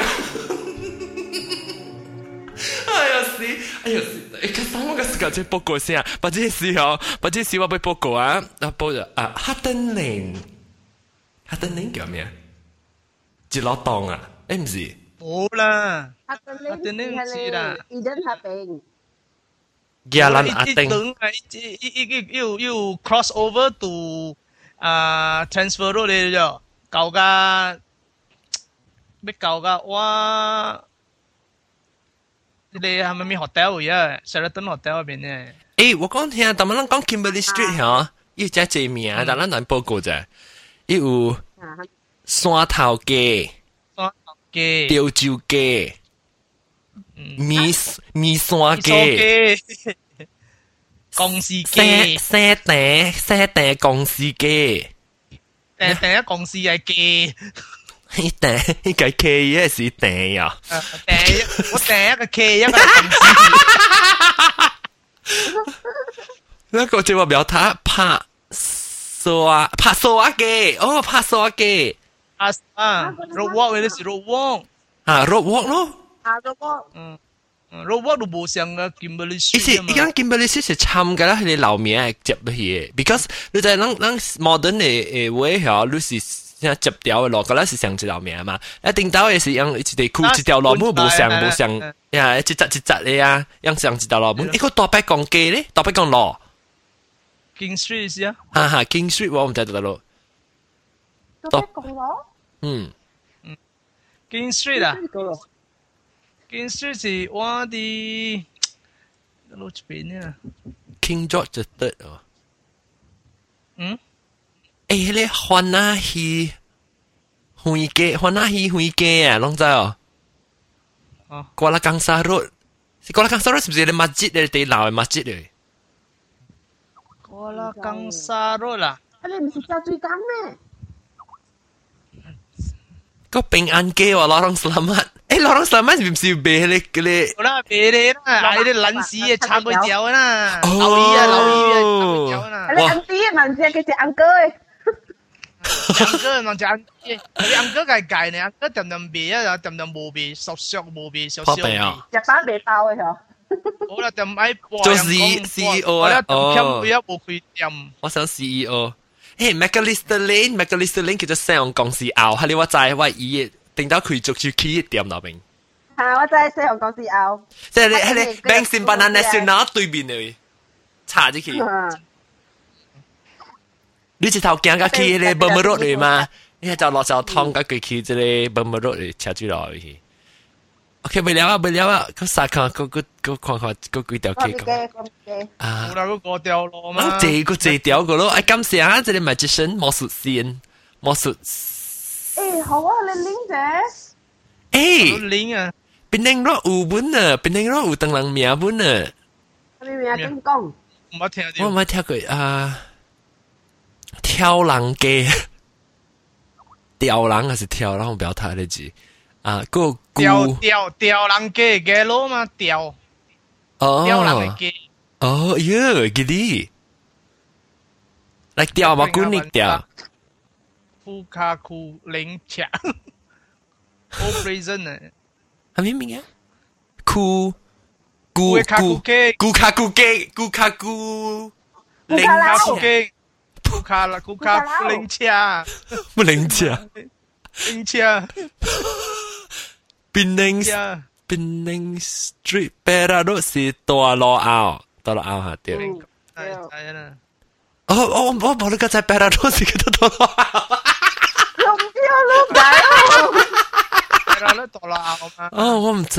哎呀死！佢三個時間再報告先啊，或者時候我俾報告啊，報咗啊 Hutton Lane 叫咩啊？一老檔啊？誒唔是？ 冇啦， Hutton Lane 唔知啦。Eden Hutton。 亞蘭阿丁。 要 cross over to transfer 到你咗，舊噶，咩舊噶？哇！你係咪咪 hotel 呀 ？Sheraton hotel 嗰邊呢？ 誒，我講聽，但係咱講 Kimberley Street 嚇，要只字名，但咱難報告啫。有山頭街、潮州街、米山街、 公司街、 西訂公司街， 第一公司係街。 呢個 K 也是訂呀。 我訂一個 K， 一個公司。 那個就話表他拍沙機，哦，拍沙機。 roadwalk 你是 roadwalk。 啊 ，roadwalk 咯。 roadwalk。 roadwalk 都冇上嘅 Kimberley Street 依家 Kimberley Street 是參噶啦，佢哋樓名係接落去嘅 ，because 你在咱 modern 嘅way 嚇，你是。接掉嘅咯，嗰陣是上一條名嘛，一定到嘅是用一條褲一條路冇上呀，一節嘅呀，用上一條路冇，一個大白講街咧，大白講路 King Street 是啊， 哈 King Street 我唔知道路， 大白講路 ，King Street 啊 ，King Street 是我啲路邊啊 ，King George III 哦，誒，你歡那戲會街啊，攏知哦。瓜拉江沙路，瓜拉江沙路是不是啲masjid咧？地鬧嘅masjid咧？ 瓜拉江沙路啦， 你唔是叫最港咩？ 個平安街喎，Lorong Selamat。誒，Lorong Selamat 是唔是俾你？ 好啦，俾你啦，嗌啲撚屎啊，撐佢走啦，留意啊，撐佢走啦。 你安弟問隻佢隻安哥誒。 安哥人只安哥計計呢，安哥點點味啊，點點冇味，熟冇味，少少味。 日版未爆嘅嗬。 好啦，點解做 CEO 啊？ 哦，冇佢點。 我想 CEO。誒 ，Macalister Lane 叫做上公司拗，係你話齋話伊定到佢做住企業店那邊。 係我真係上公司拗。 即係你 Bank Simpanan Nasional 對面嘅，查咗佢。 你一頭行到去迄個伯母路嚟嘛？你就落就湯到佢去即個伯母路嚟車住落去。OK， 未了啊，佢殺看，佢看，佢幾條街講啊，冇啦，嗰個掉落嘛， 這條個咯，哎，感謝啊，這裡magician魔術師，魔術。 誒，好啊，你拎啫。 誒，拎啊， 邊頂落有本啊，邊頂落有當人名本啊。 你名點講？ 唔捌聽到。 我冇聽過啊，挑人街，吊人還是挑人？我不要睇呢字。啊，個吊人嘅嘅咯嘛，吊人嘅嘅。 哦喲，記啲，嚟吊嘛，古尼吊。 庫卡庫零卡 ，operation 啊， 係咩名啊？ 庫卡庫機，零卡庫卡零卡， 不零卡。 零車， 檳榔 Street 北啦都是大路坳嚇對。 係啦。 我冇你個在北啦都是個大路坳。 用掉路仔哦。 北啦大路坳嘛。 哦，我唔知。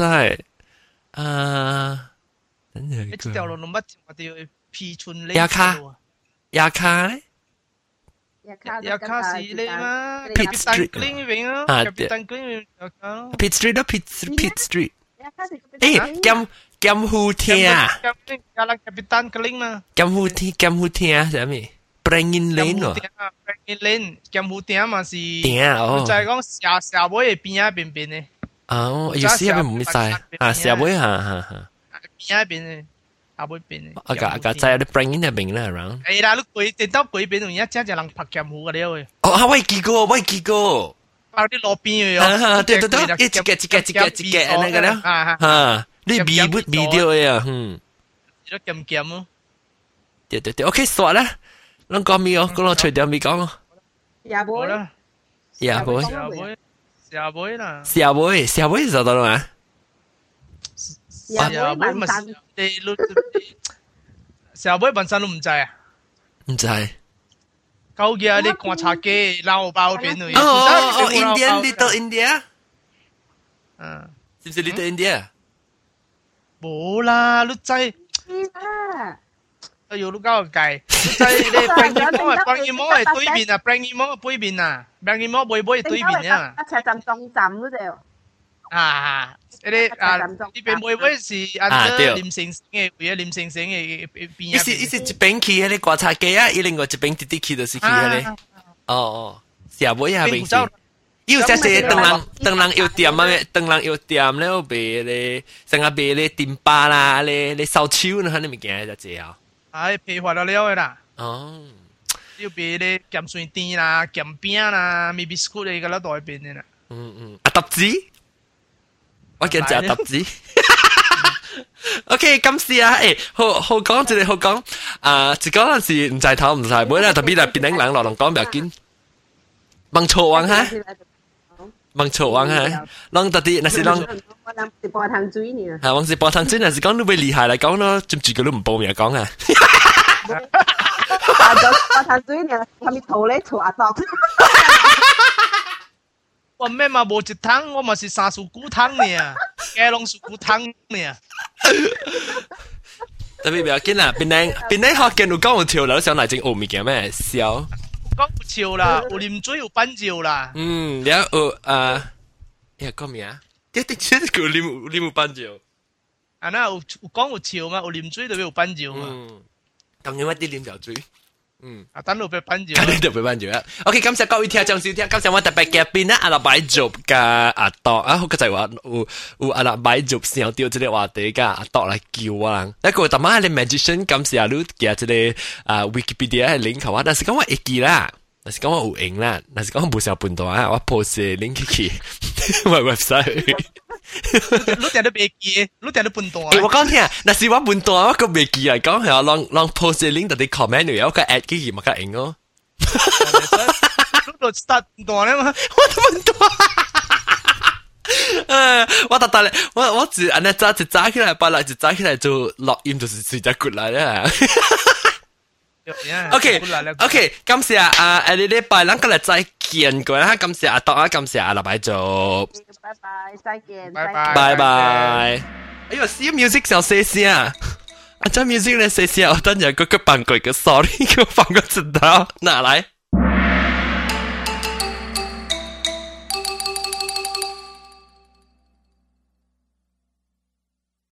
啊，等陣一條路乜我哋皮村咧。 亞卡咧。 亞卡是你嘛 ？Pit Street 嗰邊啊 ，Capitan Green 亞卡。 Pit Street 咯 ，Pit Street。誒，金湖廳啊。 加啦 Capitan Green 嘛。 金湖廳啊，係咩 ？Bringing Lane 喎。 Bringing Lane，金湖廳嘛是。 廳哦。 就係講社會嘅邊啊邊邊嘅。 哦，有時係咪唔使啊？社會嚇。 邊啊邊嘅。阿妹邊嘅， 個仔有啲 bring in 入邊啦，around。 係啦，你攰電刀攰邊度，而家只人拍劍湖嘅了喂。 哦，我見過。 啊，啲路邊嘅對，一隻那個了。啊，你微掉嘅啊， 都劍咯。 對，OK，算啦。你講咩哦？講除掉未講哦。 廿杯啦， 廿杯啦。 社會就到啦嘛。 社會民生， 社會民生都唔制啊！ 唔制。 究竟你觀察機撈包邊度？ 哦 ，Little India。 嗯， 是唔是 Little India？ 冇啦，你制。哎呦，你搞個計，你制你 Bangimore 係對面啊 ，Bangimore 背面啊 ，Bangimore 背對面啊。 一齊站中站嗰度。 啊！呢邊會唔會是按照廉城嘅會啊？廉城嘅邊一時一邊去嗰啲觀察機啊，另外一邊直去就是去嗰啲。哦，社會啊邊去？有隻是當人有店啊，當人有店咧，賣咧，成日賣咧電巴啦，咧燒酒呢，嗰啲物件就這啊。 係批發到了嘅啦。 哦， 要賣咧鹹水甜啦、鹹餅啦、咪 biscuit 嚟嘅啦，代邊嘅啦。 啊，揼子。我見隻揼子，OK， 感謝啊！誒，好講，一個好講，一講陣時唔在頭唔在尾啦，特別係變頂人落嚟講唔要緊，問錯王哈，問錯王哈，讓特啲，那是讓， 是播湯水呢， 係，我是播湯水，那是講你會厲害嚟講咯，接住佢都唔報名講啊， 播湯水呢，他咪頭咧錯阿當。 我咩嘛無一湯，我嘛是三樹菇湯呢，雞龍樹菇湯呢。 特別唔要緊啦，邊頂學見有講有潮流，想嚟整學物件咩？笑。 講有潮啦，有啉水有板照啦。 然後講咩啊？一定先叫啉有板照。 啊，那有講有潮嘛？有啉水就有板照嘛。 當然我啲啉條水。 啊，等到俾班住， 等到俾班住啦。OK，感謝各位聽眾收聽，感謝我特別嘉賓啦，阿拉擺做嘅阿多啊，好就係話有阿拉擺做上掉這個話題嘅阿多來叫我啦。一個特晚係 magician，感謝你嘅這個Wikipedia 係 link 我，但是講我會記啦，但是講我有用啦，但是講我冇成半段啊，我 post link 去我 website。 你定都未記，你定都半段。 我講聽，那是我半段，我個未記嚟講係我讓 post link 到啲 comment 有個 add 幾件咪得用咯。 你就 start 半段咧嘛？ 我都半段。我特特我只安尼早起來，把來就早起來就錄音，就是睡只骨來啦。 OK，感謝啊！你禮拜咱今日再見過啦，感謝阿當啊，感謝阿立擺做， 拜拜，再見， 拜拜。哎呦，see music 小聲聲啊！啊，這 music 咧聲聲，我等陣嗰個扮鬼嘅 sorry，給我放個紙條，拿來。